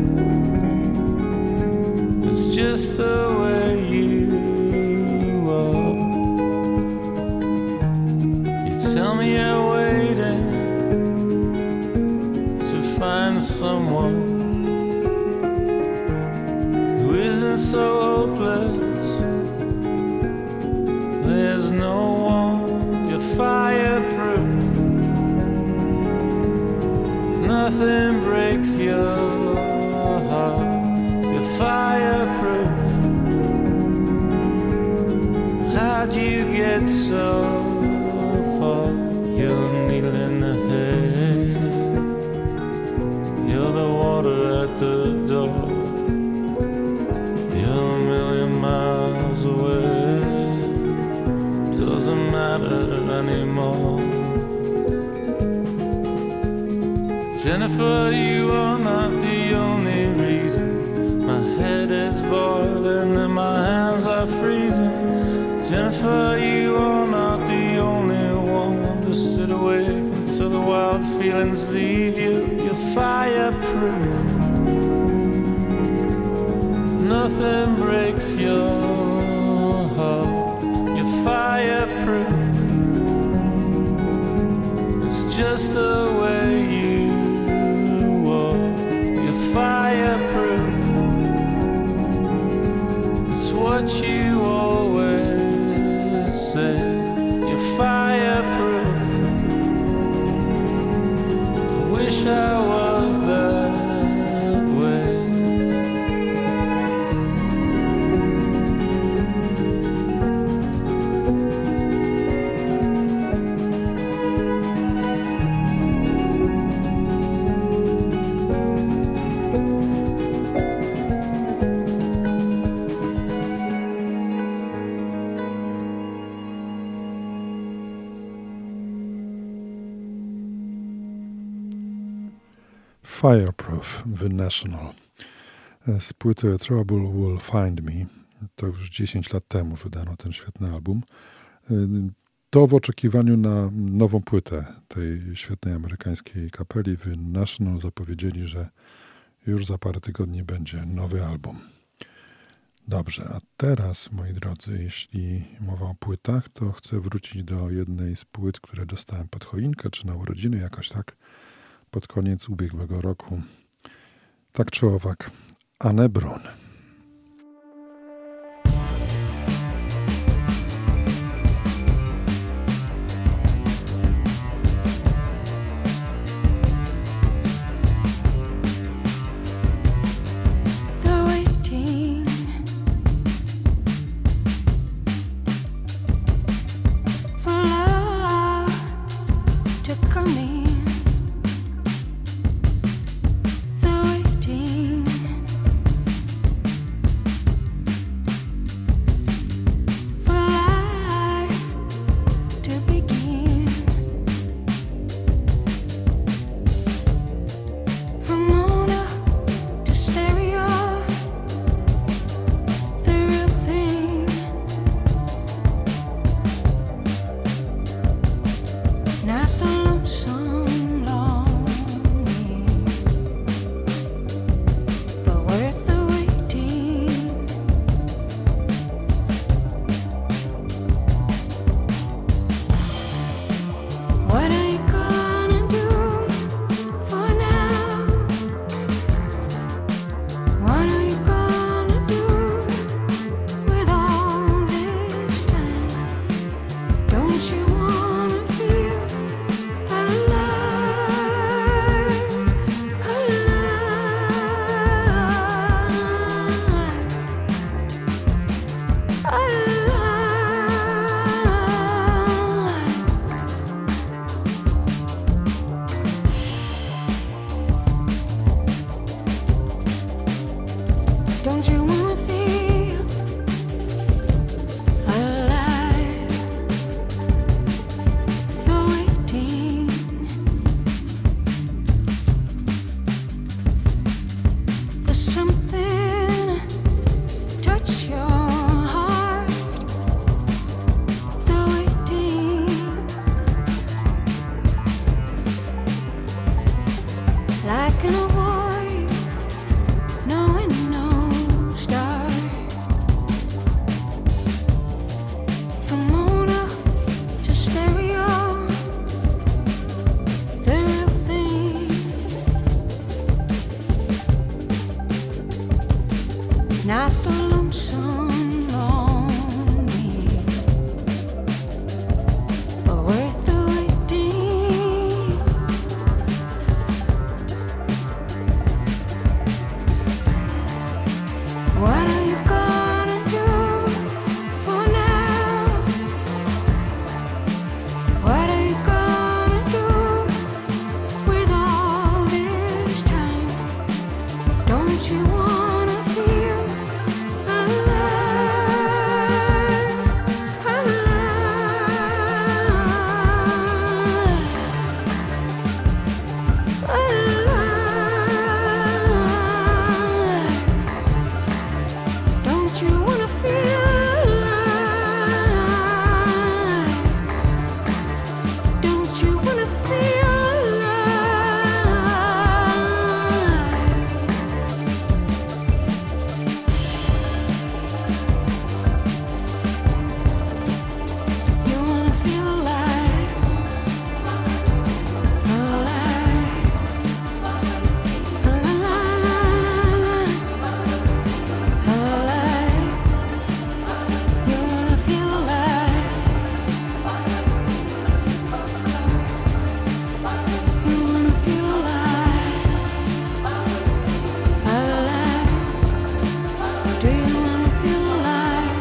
S11: It's just the way you tell me you're waiting to find someone who isn't so hopeless. There's no one. You're fireproof. Nothing breaks your heart. You're fireproof. How'd you get so you're needle in the head. You're the water at the door. You're a million miles away. Doesn't matter anymore. Jennifer, you are not the only reason my head is boiling and my hands are freezing. Jennifer, you are not the only one to sit awake until the wild feelings leave you. You're fireproof. Nothing breaks your heart. You're fireproof. It's just the way you are. You're fireproof. It's what you always say. You're fireproof. I wish I was that way.
S3: Fireproof, The National. Z płyty Trouble Will Find Me. To już 10 lat temu wydano ten świetny album. To w oczekiwaniu na nową płytę tej świetnej amerykańskiej kapeli The National zapowiedzieli, że już za parę tygodni będzie nowy album. Dobrze, a teraz, moi drodzy, jeśli mowa o płytach, to chcę wrócić do jednej z płyt, które dostałem pod choinkę, czy na urodziny, jakoś tak, pod koniec ubiegłego roku. Tak czy owak, Anne Brun.
S7: I can avoid knowing no start. From mono to stereo, the real thing. Not the lonesome longing, but worth the waiting. What are you gonna do for now? What are you gonna do with all this time? Don't you wanna feel alive, alive? Don't you wanna feel alive? Don't you wanna feel alive? You wanna feel alive, alive, alive, alive. You wanna feel alive. You wanna feel alive, alive. Do you wanna feel alive?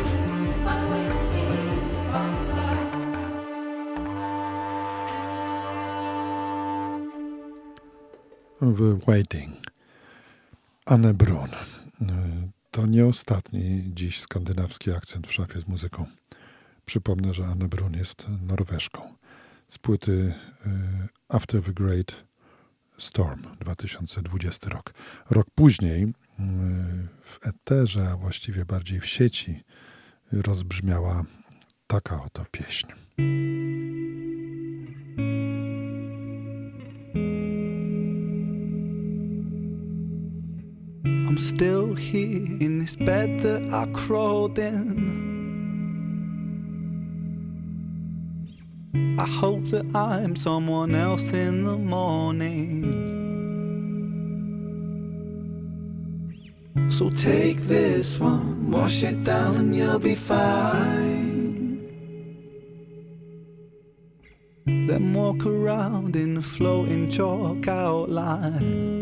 S3: w Waiting. Anne Brun. To nie ostatni dziś skandynawski akcent w szafie z muzyką. Przypomnę, że Anne Brun jest Norweżką. Z płyty After the Great Storm, 2020 rok. Rok później w eterze, a właściwie bardziej w sieci, rozbrzmiała taka oto pieśń.
S12: I'm still here in this bed that I crawled in. I hope that I'm someone else in the morning. So take this one, wash it down and you'll be fine. Then walk around in the floating chalk outline.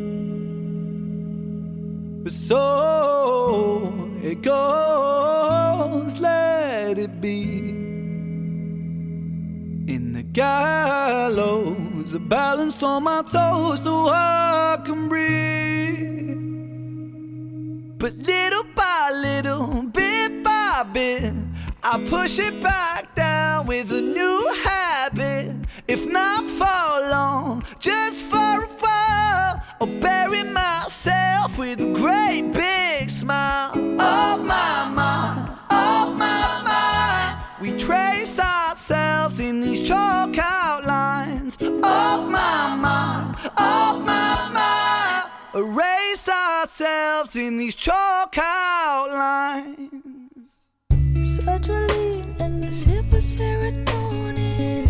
S12: But so it goes, let it be. In the gallows, a balanced on my toes so I can breathe. But little by little, bit by bit, I push it back down with a new habit. If not for long, just for a while, I'll bury myself with a great big smile. Oh my mind, oh my mind, we trace ourselves in these chalk outlines. Oh my mind, oh my mind, erase ourselves in these chalk outlines.
S2: Sertraline and the sip of serotonin.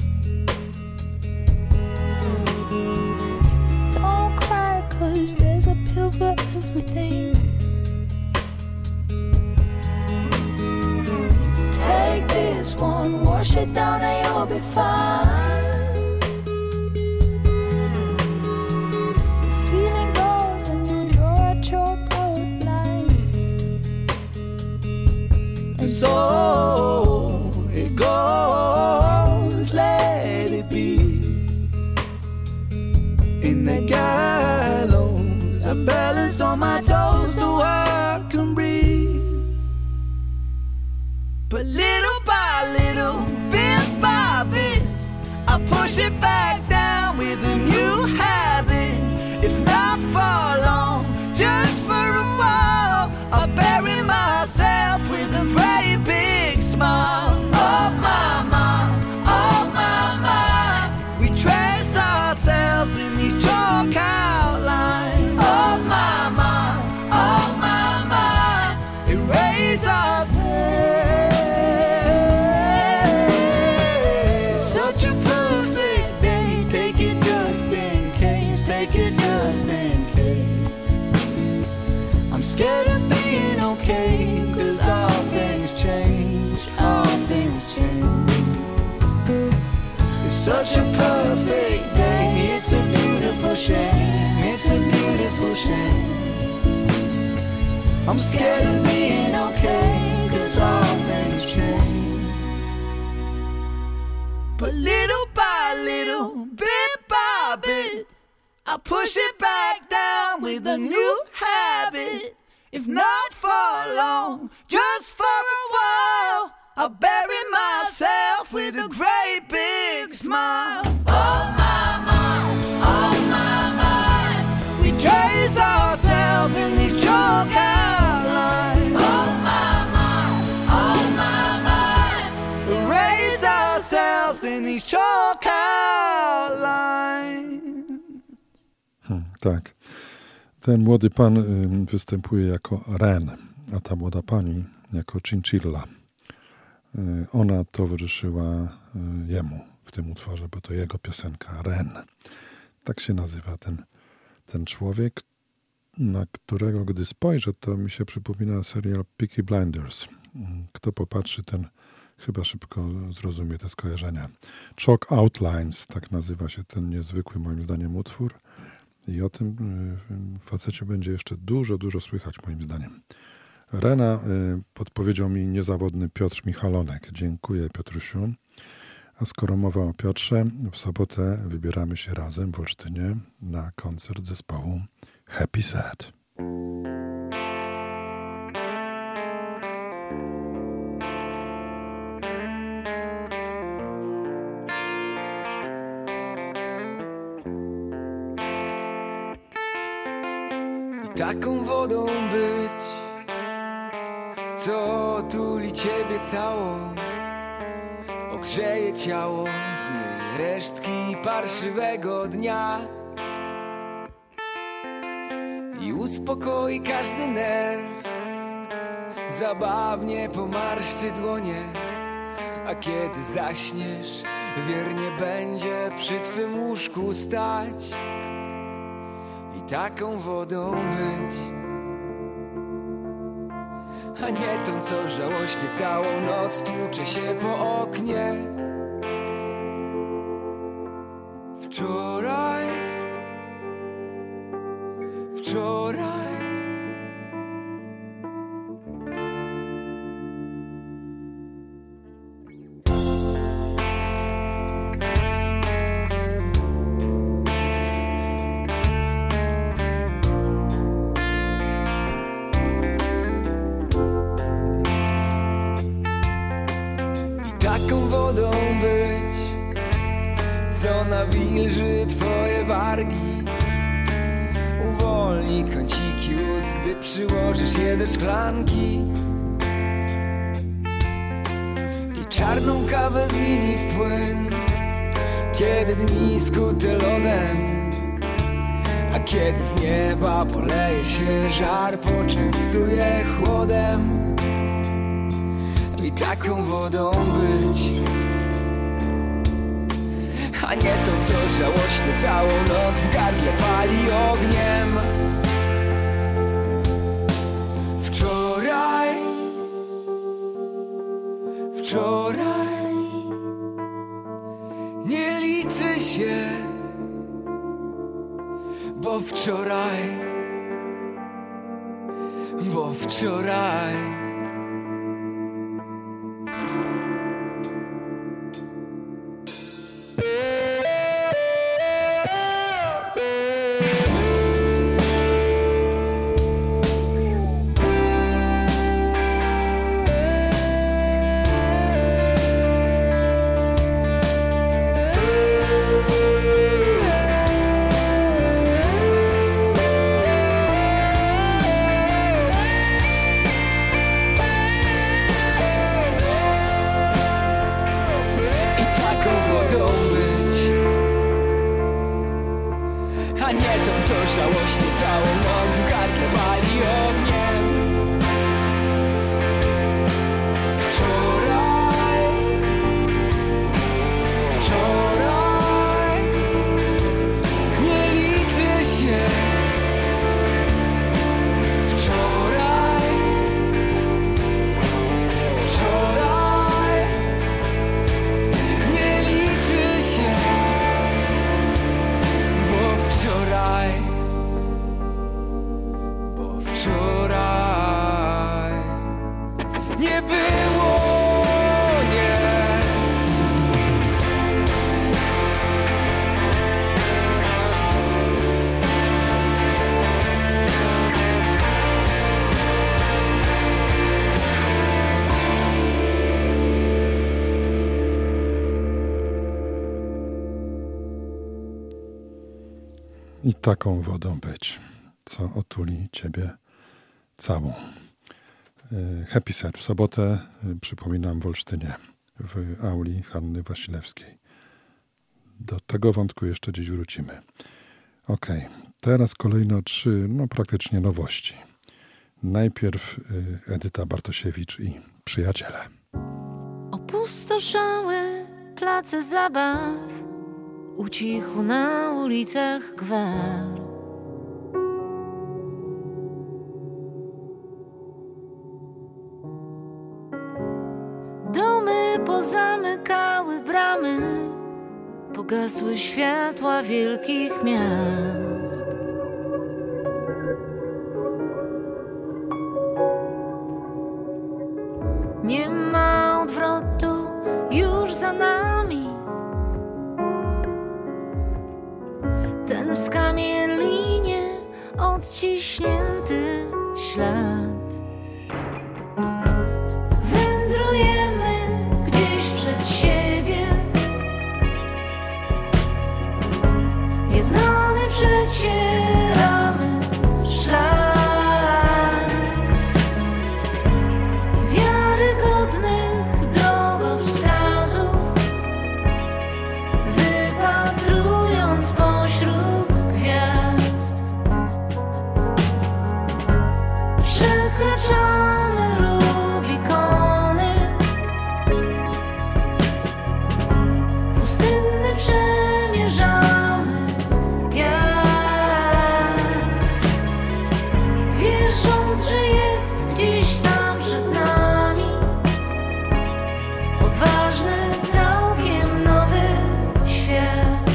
S2: Don't cry, 'cause there's a pill for everything. Take this one, wash it down and you'll be fine. The feeling goes and you draw a chalk outline.
S12: And so it goes, let it be. In the gallows, I balance on my toes so I can breathe. But little by little, bit by bit, I push it back down with a new habit. If not for long, just for a while, I'll bury myself with a great big smile. Oh my mind, we trace ourselves in these chalk perfect day. It's a beautiful shame, it's a beautiful shame. I'm scared of being okay, 'cause all things change. But little by little, bit by bit, I push it back down with a new habit. If not for long, just for a while, I'll bury myself with a great big smile. Oh my, we trace ourselves in these chalk outlines. Oh my, erase ourselves in these chalk outlines.
S3: Tak. Ten młody pan występuje jako Ren, a ta młoda pani jako Chinchilla. Ona towarzyszyła jemu w tym utworze, bo to jego piosenka, Ren. Tak się nazywa ten człowiek, na którego gdy spojrzę, to mi się przypomina serial Peaky Blinders. Kto popatrzy, ten chyba szybko zrozumie te skojarzenia. Chalk Outlines, tak nazywa się ten niezwykły moim zdaniem utwór. I o tym facecie będzie jeszcze dużo słychać moim zdaniem. Rena podpowiedział mi niezawodny Piotr Michalonek. Dziękuję, Piotrusiu. A skoro mowa o Piotrze, w sobotę wybieramy się razem w Olsztynie na koncert zespołu Happy Sad.
S13: Taką wodą być, co tuli ciebie całą, ogrzeje ciało, zmyje resztki parszywego dnia i uspokoi każdy nerw, zabawnie pomarszczy dłonie, a kiedy zaśniesz, wiernie będzie przy twym łóżku stać. I taką wodą być, a nie tą, co żałośnie całą noc tłucze się po oknie. Wczoraj wodą być, co nawilży twoje wargi, uwolni kąciki ust, gdy przyłożysz je do szklanki i czarną kawę zmieni w płyn, kiedy dni skute lodem, a kiedy z nieba poleje się żar, poczęstuje chłodem. I taką wodą być, a nie to, co żałośnie całą noc w gardle pali ogniem. Wczoraj nie liczy się, bo wczoraj
S3: i taką wodą być, co otuli ciebie całą. Happy Set w sobotę, przypominam, w Olsztynie, w auli Hanny Wasilewskiej. Do tego wątku jeszcze dziś wrócimy. Okej, teraz kolejno 3, praktycznie nowości. Najpierw Edyta Bartosiewicz i Przyjaciele.
S14: Opustoszały place zabaw, ucichł na ulicach gwar. Domy pozamykały bramy, pogasły światła wielkich miast. Nie ma odwrotu już za nami, ten w skamielinie odciśnięty ślad. Wędrujemy gdzieś przed siebie, nieznany przecieramy szlak. Wiarygodnych drogowskazów, wypatrując pośród gwiazd, przekraczamy Rubikony, pustynny przemierzamy piach, wierząc, że jest gdzieś tam przed nami odważny, całkiem nowy świat.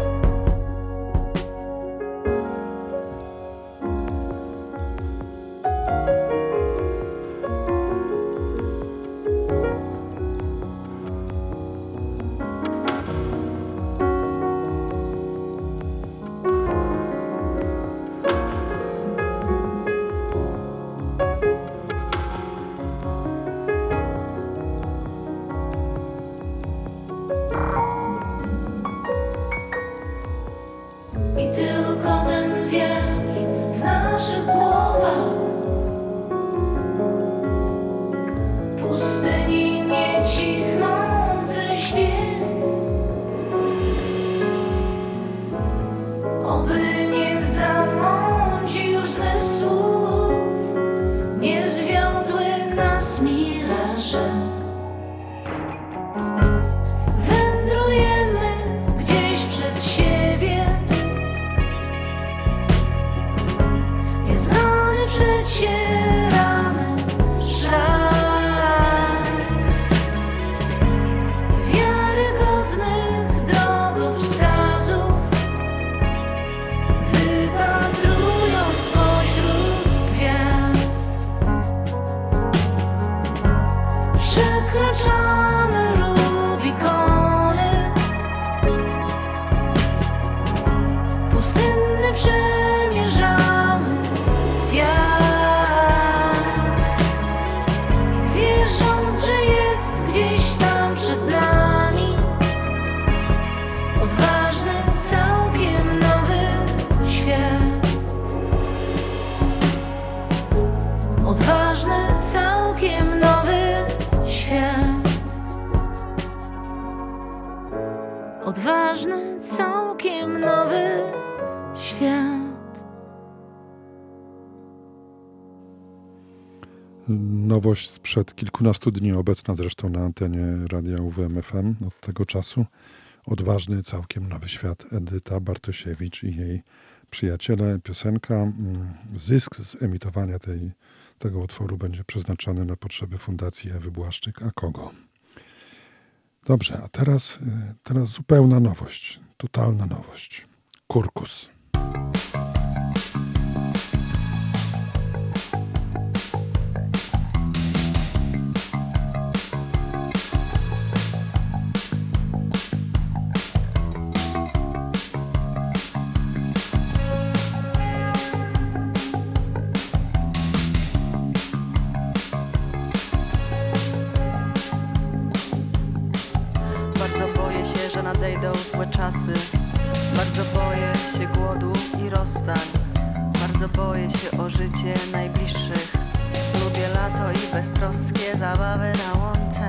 S14: I tylko ten wiatr w naszych głowach, pustyni niecichnący śpiew, oby nie zamącił zmysłów, nie zwiodły nas miraże. Wędrujemy gdzieś przed siebie, nieznany przecieramy szlak. Wiarygodnych drogowskazów, wypatrując pośród gwiazd, przekraczamy Rubikony, pustynny przemierzamy piach, wierząc, że jest gdzieś tam przed nami odważny, całkiem nowy świat. Odważny, całkiem nowy świat. Odważny, całkiem nowy świat.
S3: Nowość sprzed kilkunastu dni, obecna zresztą na antenie radia UWM FM od tego czasu. Odważny, całkiem nowy świat. Edyta Bartosiewicz i jej Przyjaciele. Piosenka. Zysk z emitowania tego utworu będzie przeznaczony na potrzeby Fundacji Ewy Błaszczyk. A kogo? Dobrze, a teraz zupełna nowość. Totalna nowość. Kurkus.
S15: Bardzo boję się, że nadejdą złe czasy. Bardzo boję się, się głodu i rozstań. Bardzo boję się o życie najbliższych. Lubię lato i beztroskie zabawy na łące.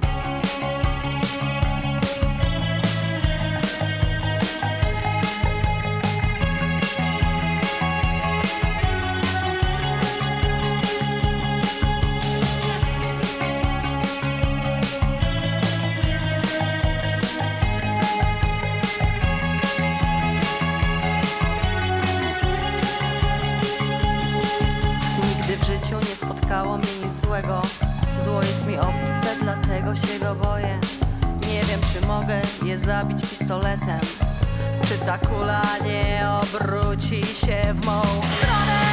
S15: Spotkało mnie nic złego. Zło jest mi obce, dlatego się go boję. Nie wiem, czy mogę je zabić pistoletem. Czy ta kula nie obróci się w mą stronę?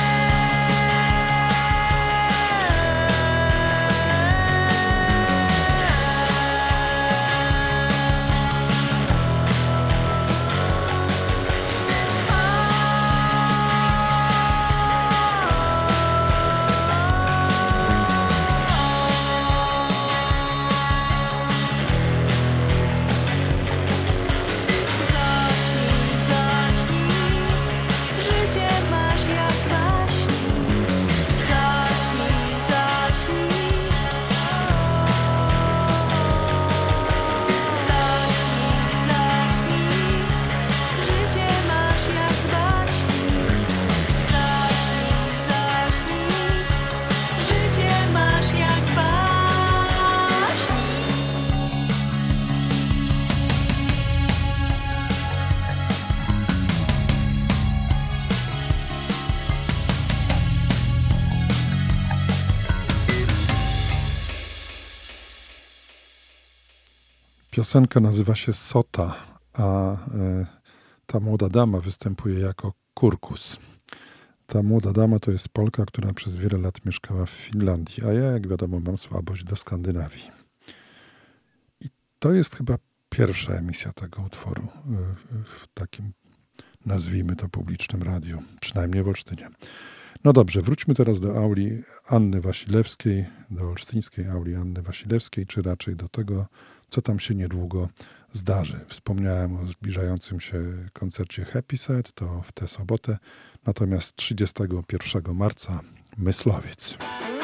S3: Piosenka nazywa się Sota, a ta młoda dama występuje jako Kurkus. Ta młoda dama to jest Polka, która przez wiele lat mieszkała w Finlandii, a ja, jak wiadomo, mam słabość do Skandynawii. I to jest chyba pierwsza emisja tego utworu w takim, nazwijmy to, publicznym radiu, przynajmniej w Olsztynie. No dobrze, wróćmy teraz do auli Anny Wasilewskiej, do olsztyńskiej auli Anny Wasilewskiej, czy raczej do tego, co tam się niedługo zdarzy. Wspomniałem o zbliżającym się koncercie Happy Set, to w tę sobotę, natomiast 31 marca Myslowiec.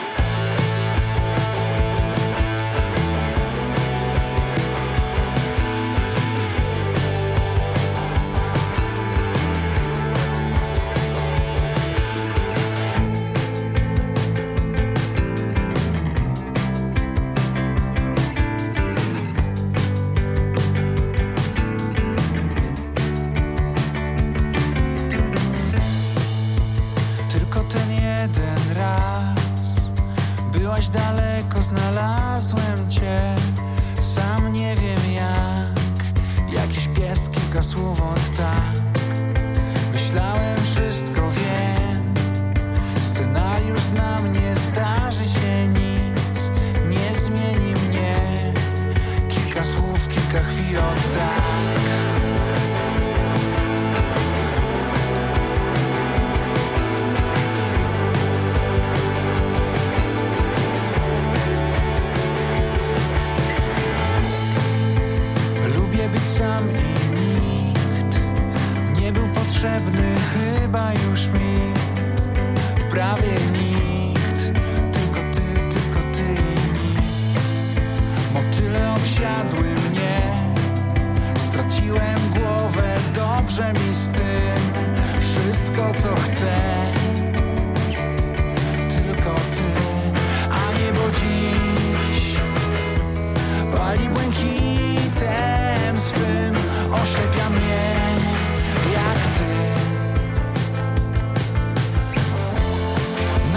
S6: Daleko znalazłem cię, sam nie wiem jak. Jakiś gest, kilka słów od tak. Myślałem, wszystko wiem. Scenariusz znam, nie zdarzy się nic. Nie zmieni mnie. Kilka słów, kilka chwil od tak. Sam i nikt nie był potrzebny chyba już mi. Prawie nikt, tylko ty i nic. Motyle obsiadły mnie, straciłem głowę, dobrze mi z tym. Wszystko co chcę, tylko ty. A niebo dziś pali błękitem swym, oślepia mnie jak ty.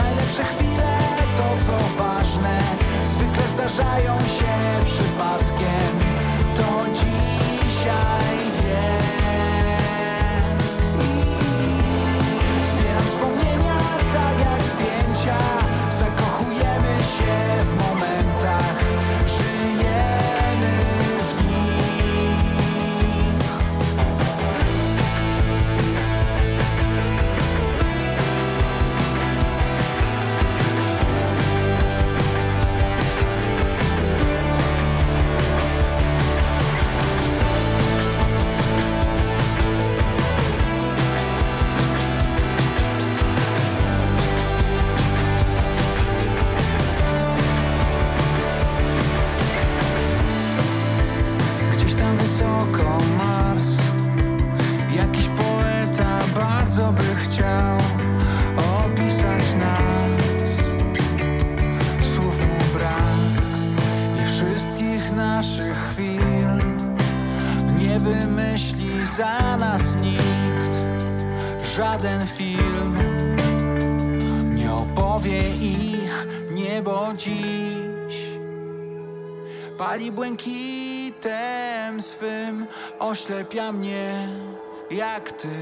S12: dla nas nikt, żaden film nie opowie ich niebo dziś. Pali błękitem swym, oślepia mnie jak ty.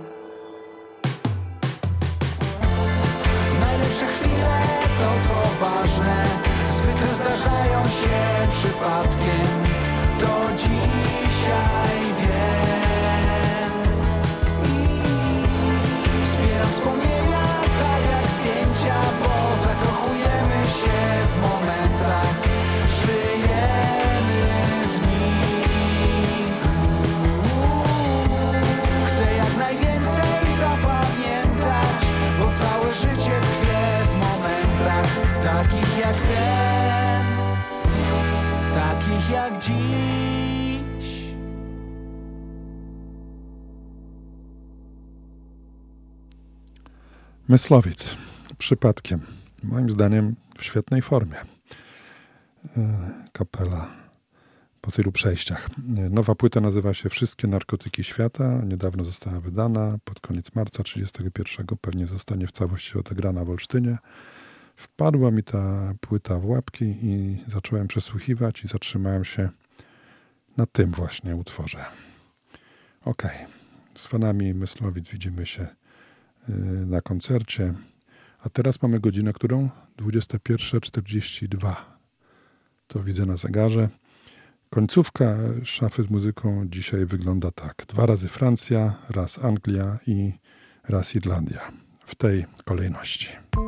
S12: Najlepsze chwile to co ważne, zwykle zdarzają się przypadkiem. Do dzisiaj wiem i zbieram wspomnienia tak jak zdjęcia, bo zakochujemy się w momentach, żyjemy w nich. Chcę jak najwięcej zapamiętać, bo całe życie tkwie w momentach takich jak ten, takich jak dziś.
S3: Myslowic. Przypadkiem. Moim zdaniem w świetnej formie. Kapela po tylu przejściach. Nowa płyta nazywa się Wszystkie narkotyki świata. Niedawno została wydana. Pod koniec marca 31 pewnie zostanie w całości odegrana w Olsztynie. Wpadła mi ta płyta w łapki i zacząłem przesłuchiwać i zatrzymałem się na tym właśnie utworze. Okej. Z fanami Myslowic widzimy się na koncercie. A teraz mamy godzinę, którą? 21:42. To widzę na zegarze. Końcówka szafy z muzyką dzisiaj wygląda tak. 2 razy Francja, raz Anglia i raz Irlandia. W tej kolejności.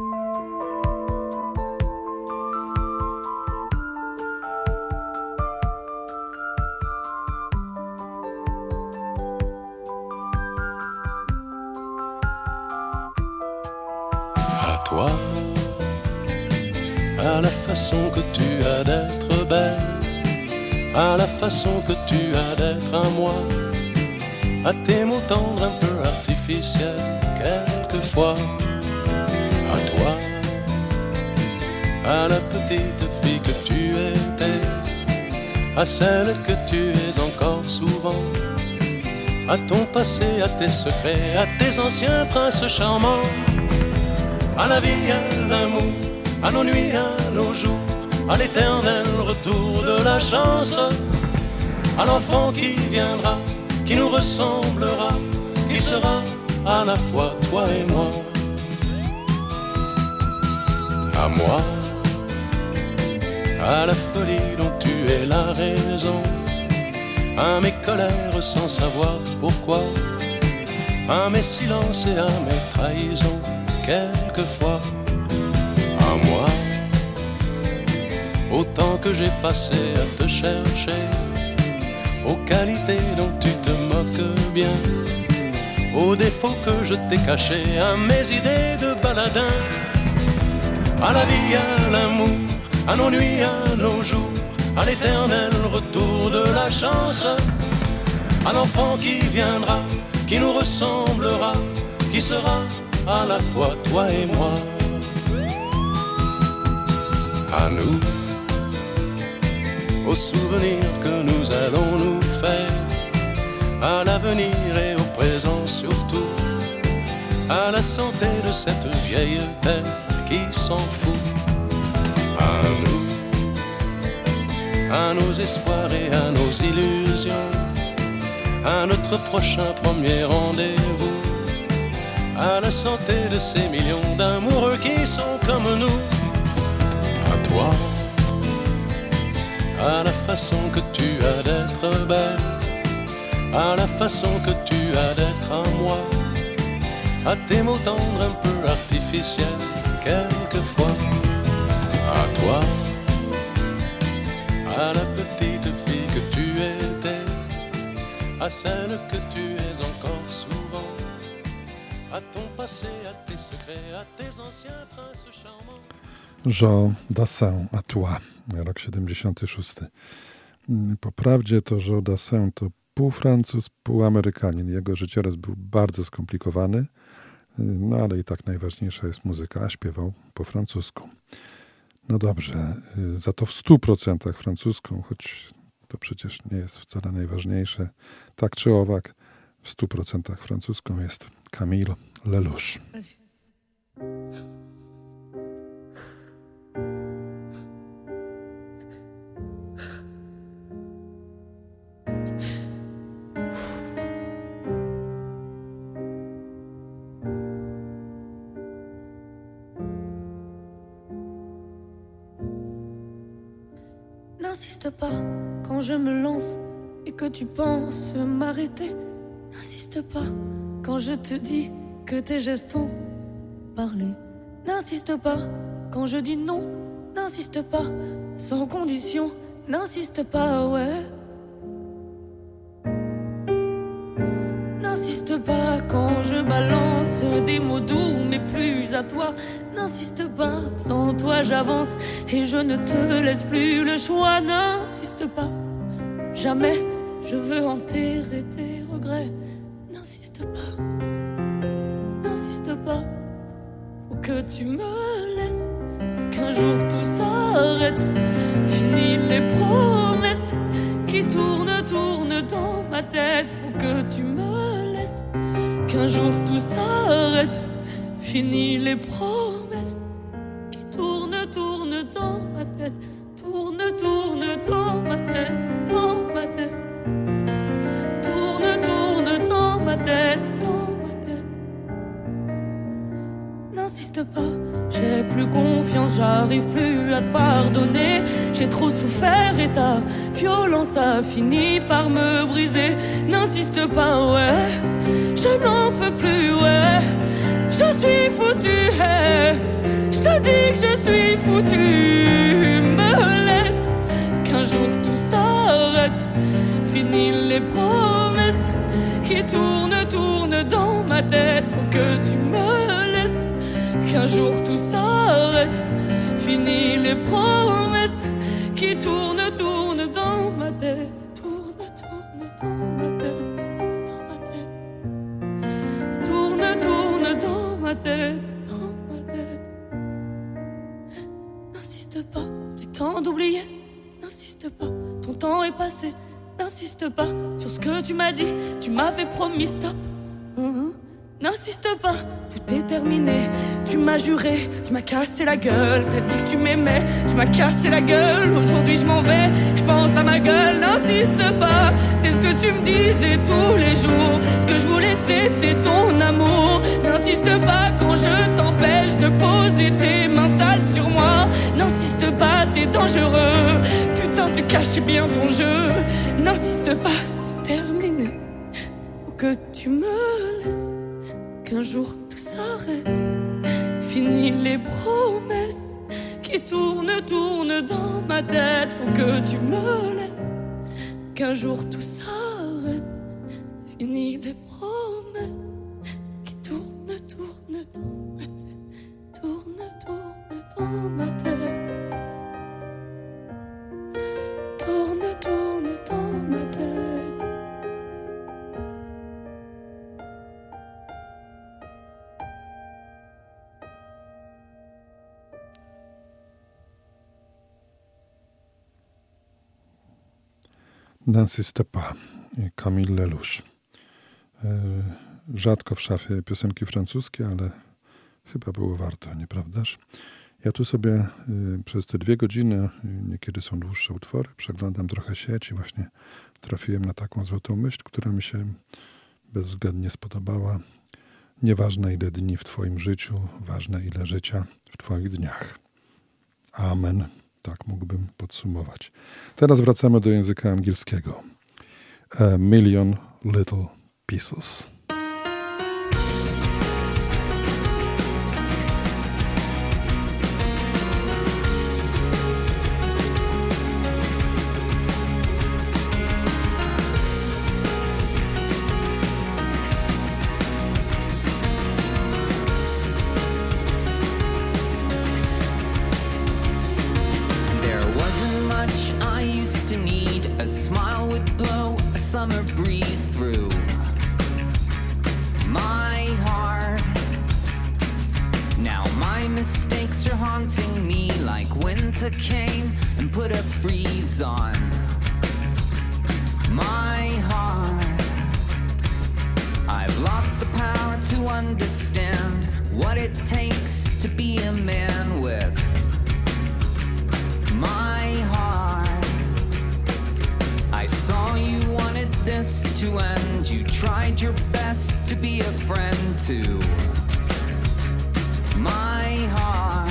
S16: Toi, à la façon que tu as d'être belle, à la façon que tu as d'être à moi, à tes mots tendres un peu artificiels quelquefois. À toi, à la petite fille que tu étais, à celle que tu es encore souvent, à ton passé, à tes secrets, à tes anciens princes charmants. À la vie, à l'amour, à nos nuits, à nos jours, à l'éternel retour de la chance, à l'enfant qui viendra, qui nous ressemblera, qui sera à la fois toi et moi. À moi, à la folie dont tu es la raison, à mes colères sans savoir pourquoi, à mes silences et à mes trahisons. Quelquefois, à moi, au temps que j'ai passé à te chercher, aux qualités dont tu te moques bien, aux défauts que je t'ai cachés, à mes idées de baladin, à la vie, à l'amour, à nos nuits, à nos jours, à l'éternel retour de la chance, à l'enfant qui viendra, qui nous ressemblera, qui sera à la fois toi et moi. À nous, aux souvenirs que nous allons nous faire, à l'avenir et au présent surtout, à la santé de cette vieille terre qui s'en fout. À nous, à nos espoirs et à nos illusions, à notre prochain premier rendez-vous, à la santé de ces millions d'amoureux qui sont comme nous. À toi, à la façon que tu as d'être belle, à la façon que tu as d'être à moi, à tes mots tendres un peu artificiels quelquefois. À toi, à la petite fille que tu étais, à celle que tu es encore souvent, à ton passé, à tes secrets, à tes anciens princes charmants.
S3: Jean Dassin, à toi, rok 76. Po prawdzie to Jean Dassin to pół Francuz, pół Amerykanin. Jego życiorys był bardzo skomplikowany, no ale i tak najważniejsza jest muzyka, a śpiewał po francusku. No dobrze, za to w 100% francuską, choć to przecież nie jest wcale najważniejsze. Tak czy owak, w 100% francuską jest Camille Lelouch.
S14: N'insiste pas quand je me lance et que tu penses m'arrêter. N'insiste pas quand je te dis que tes gestes ont parlé. N'insiste pas quand je dis non. N'insiste pas sans condition. N'insiste pas, ouais. N'insiste pas quand je balance des mots doux mais plus à toi. N'insiste pas, sans toi j'avance et je ne te laisse plus le choix. N'insiste pas, jamais je veux enterrer tes regrets. N'insiste pas, faut que tu me laisses, qu'un jour tout s'arrête. Fini les promesses qui tournent dans ma tête. Faut que tu me laisses, qu'un jour tout s'arrête. Fini les promesses qui tournent dans ma tête. Tourne dans ma tête, dans ma tête. Tourne dans ma tête, dans ma tête. N'insiste pas, j'ai plus confiance, j'arrive plus à te pardonner. J'ai trop souffert et ta violence a fini par me briser. N'insiste pas, ouais, je n'en peux plus, ouais. Je suis foutu, hey. Je te dis que je suis foutu. Me laisse, qu'un jour tout s'arrête. Fini les promesses qui tournent dans ma tête. Faut que tu me laisses, qu'un jour tout s'arrête. Fini les promesses qui tournent dans ma tête. Tourne dans ma tête, dans ma tête. Tourne dans ma tête, dans ma tête. N'insiste pas, j'ai temps d'oublier. N'insiste pas, ton temps est passé. N'insiste pas sur ce que tu m'as dit. Tu m'avais promis stop. N'insiste pas, tout est terminé. Tu m'as juré, tu m'as cassé la gueule. T'as dit que tu m'aimais, tu m'as cassé la gueule. Aujourd'hui je m'en vais, je pense à ma gueule. N'insiste pas, c'est ce que tu me disais tous les jours. Ce que je voulais c'était ton amour. N'insiste pas quand je t'empêche de poser tes mains sales sur moi. N'insiste pas, t'es dangereux. Putain, tu cachais bien ton jeu. N'insiste pas, c'est terminé. Faut que tu me laisses, qu'un jour tout s'arrête. Fini les promesses qui tournent dans ma tête. Faut que tu me laisses, qu'un jour tout s'arrête. Fini les promesses qui tournent dans ma tête. Tourne dans ma tête. Tourne dans ma tête.
S3: N'insiste pas, Camille Lelouch. Rzadko w szafie piosenki francuskie, ale chyba było warto, nieprawdaż? Ja tu sobie przez te 2 godziny, niekiedy są dłuższe utwory, przeglądam trochę sieć i właśnie trafiłem na taką złotą myśl, która mi się bezwzględnie spodobała. Nieważne ile dni w twoim życiu, ważne ile życia w twoich dniach. Amen. Tak mógłbym podsumować. Teraz wracamy do języka angielskiego. A Million Little Pieces.
S17: Summer breeze through my heart. Now my mistakes are haunting me like winter came and put a freeze on my heart. I've lost the power to understand what it takes to be a man with my heart. I saw you wanted this to end. You tried your best to be a friend to my heart.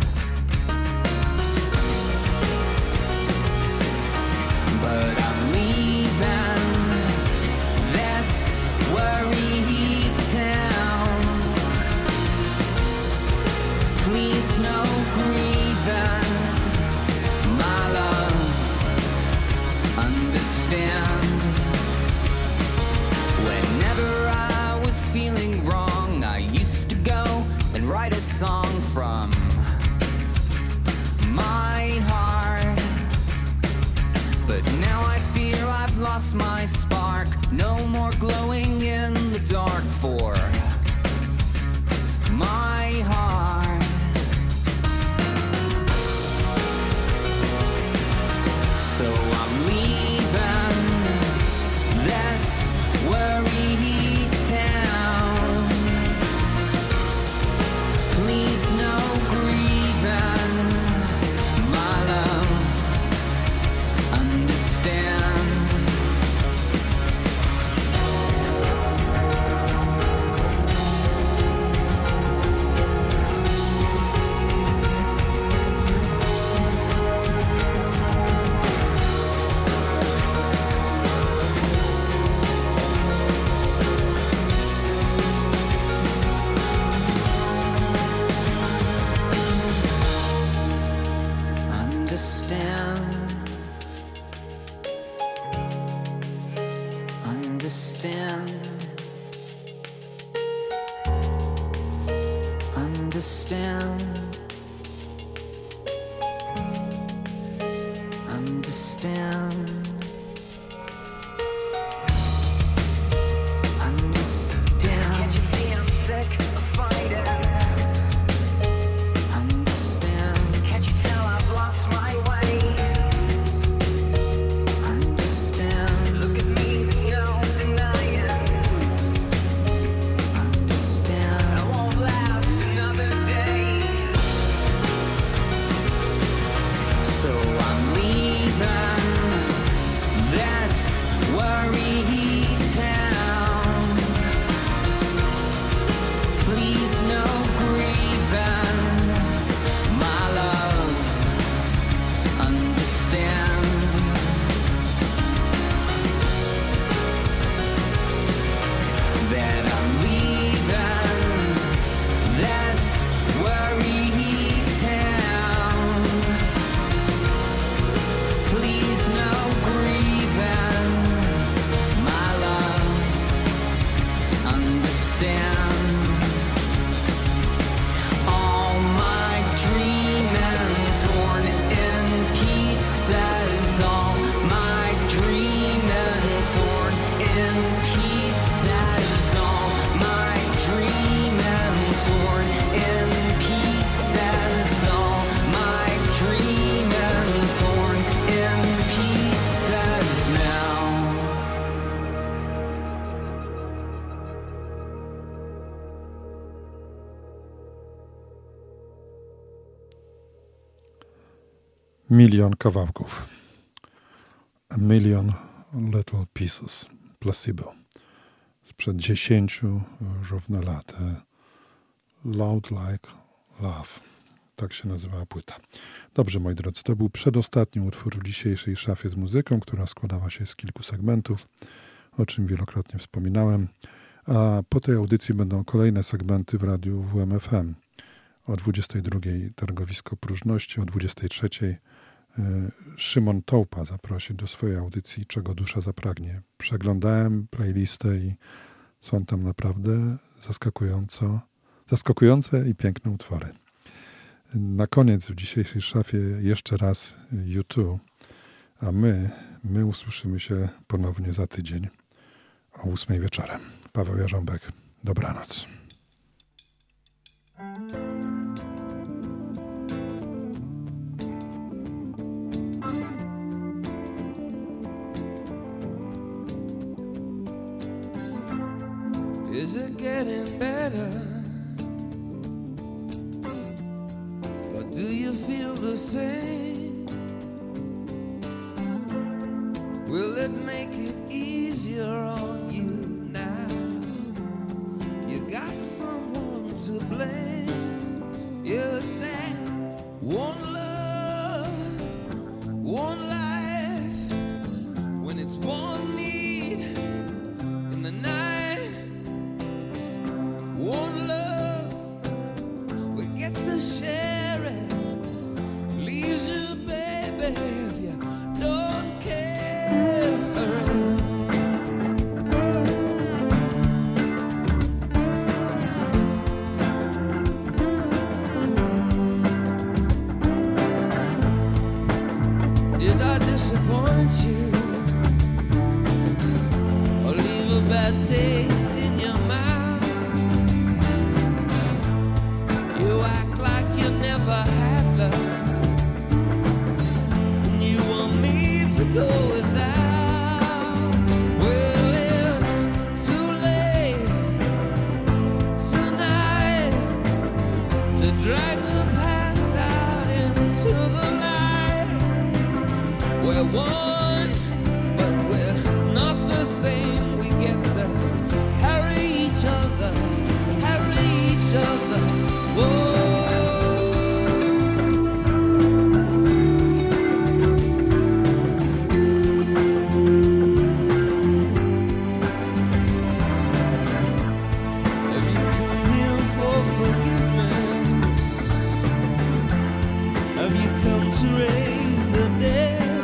S17: But I'm leaving this worry town. Please no grieving, my love, understand. Whenever I was feeling wrong, I used to go and write a song from my heart. But now I fear I've lost my spark. No more glowing in the dark for my heart. So I'm leaving this worry town. Please no grieving, my love, understand. Understand. Understand. Understand. Can't you see I'm sick of fighting? Understand. Can't you tell I've lost my way? Understand. Look at me, there's no denying. Understand. I won't last another day. So I'm leaving this worry town. Please no grieving, my love, understand. That I'm leaving this worry town. Please no grieving, my love, understand. All my dreaming torn in pieces. All my dreaming torn in pieces. All my dreaming torn in pieces. All my dreaming torn in pieces now.
S3: Milion kawałków. A Million Little Pieces. Placebo. Sprzed 10 równo lat. Loud Like Love. Tak się nazywała płyta. Dobrze, moi drodzy, to był przedostatni utwór w dzisiejszej szafie z muzyką, która składała się z kilku segmentów, o czym wielokrotnie wspominałem. A po tej audycji będą kolejne segmenty w radiu WMFM. O 22 Targowisko Próżności, o 23 Szymon Tołpa zaprosi do swojej audycji Czego dusza zapragnie. Przeglądałem playlistę i są tam naprawdę zaskakujące i piękne utwory. Na koniec w dzisiejszej szafie jeszcze raz U2, a my usłyszymy się ponownie za tydzień o 8 wieczorem. Paweł Jarząbek, dobranoc.
S13: Is it getting better? Or do you feel the same? Will it make it easier on you now? You got someone to blame. You say one love, one life, when it's one need in the night. One love, we get to share it. Leaves you, baby, if you don't care for it. Did I disappoint you? Or leave a bad taste in your mouth? You act like you never had love, and you want me to go without. Well, it's too late tonight to drag the past out into the light. We're one, but we're not the same. We get to carry each other, carry each other. Whoa. Have you come here for forgiveness? Have you come to raise the dead?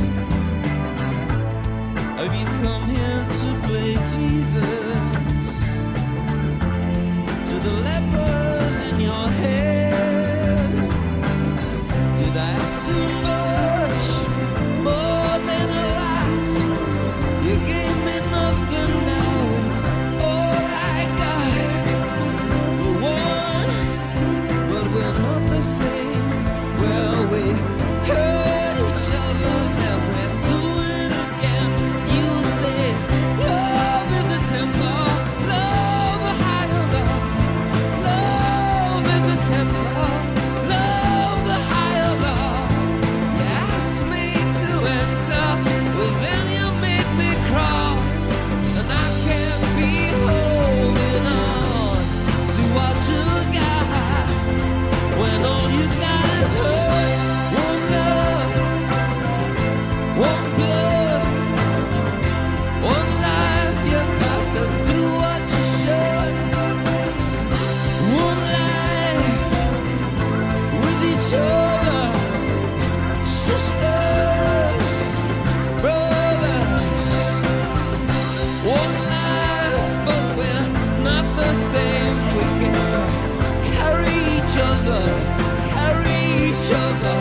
S13: Have you come here to play Jesus to the lepers in your head? Did I ask too much, more than a lot? You gave me nothing, now it's all I got. We're one, but we're not the same. Well, we hurt each other, now we're doing it again. You say love is a temper, love a higher love. Love is a temper, love the higher love. You asked me to enter, well then you made me crawl, and I can't be holding on to what you got when all you got is hurt. One love, one blood, one life. You got to do what you should. One life with each other, sisters, brothers. One life, but we're not the same. We get to carry each other, carry each other.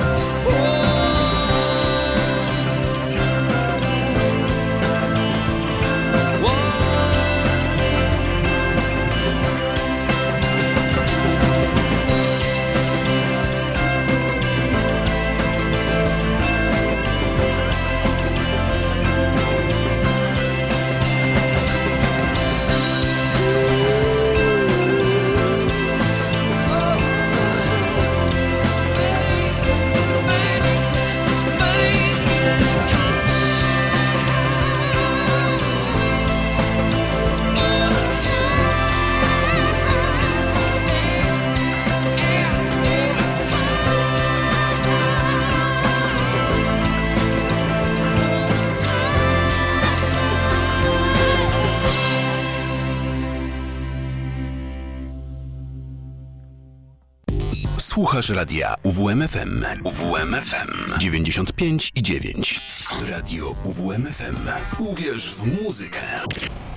S1: Słuchasz radia UWMFM. UWMFM 95,9. Radio UWMFM. Uwierz w muzykę.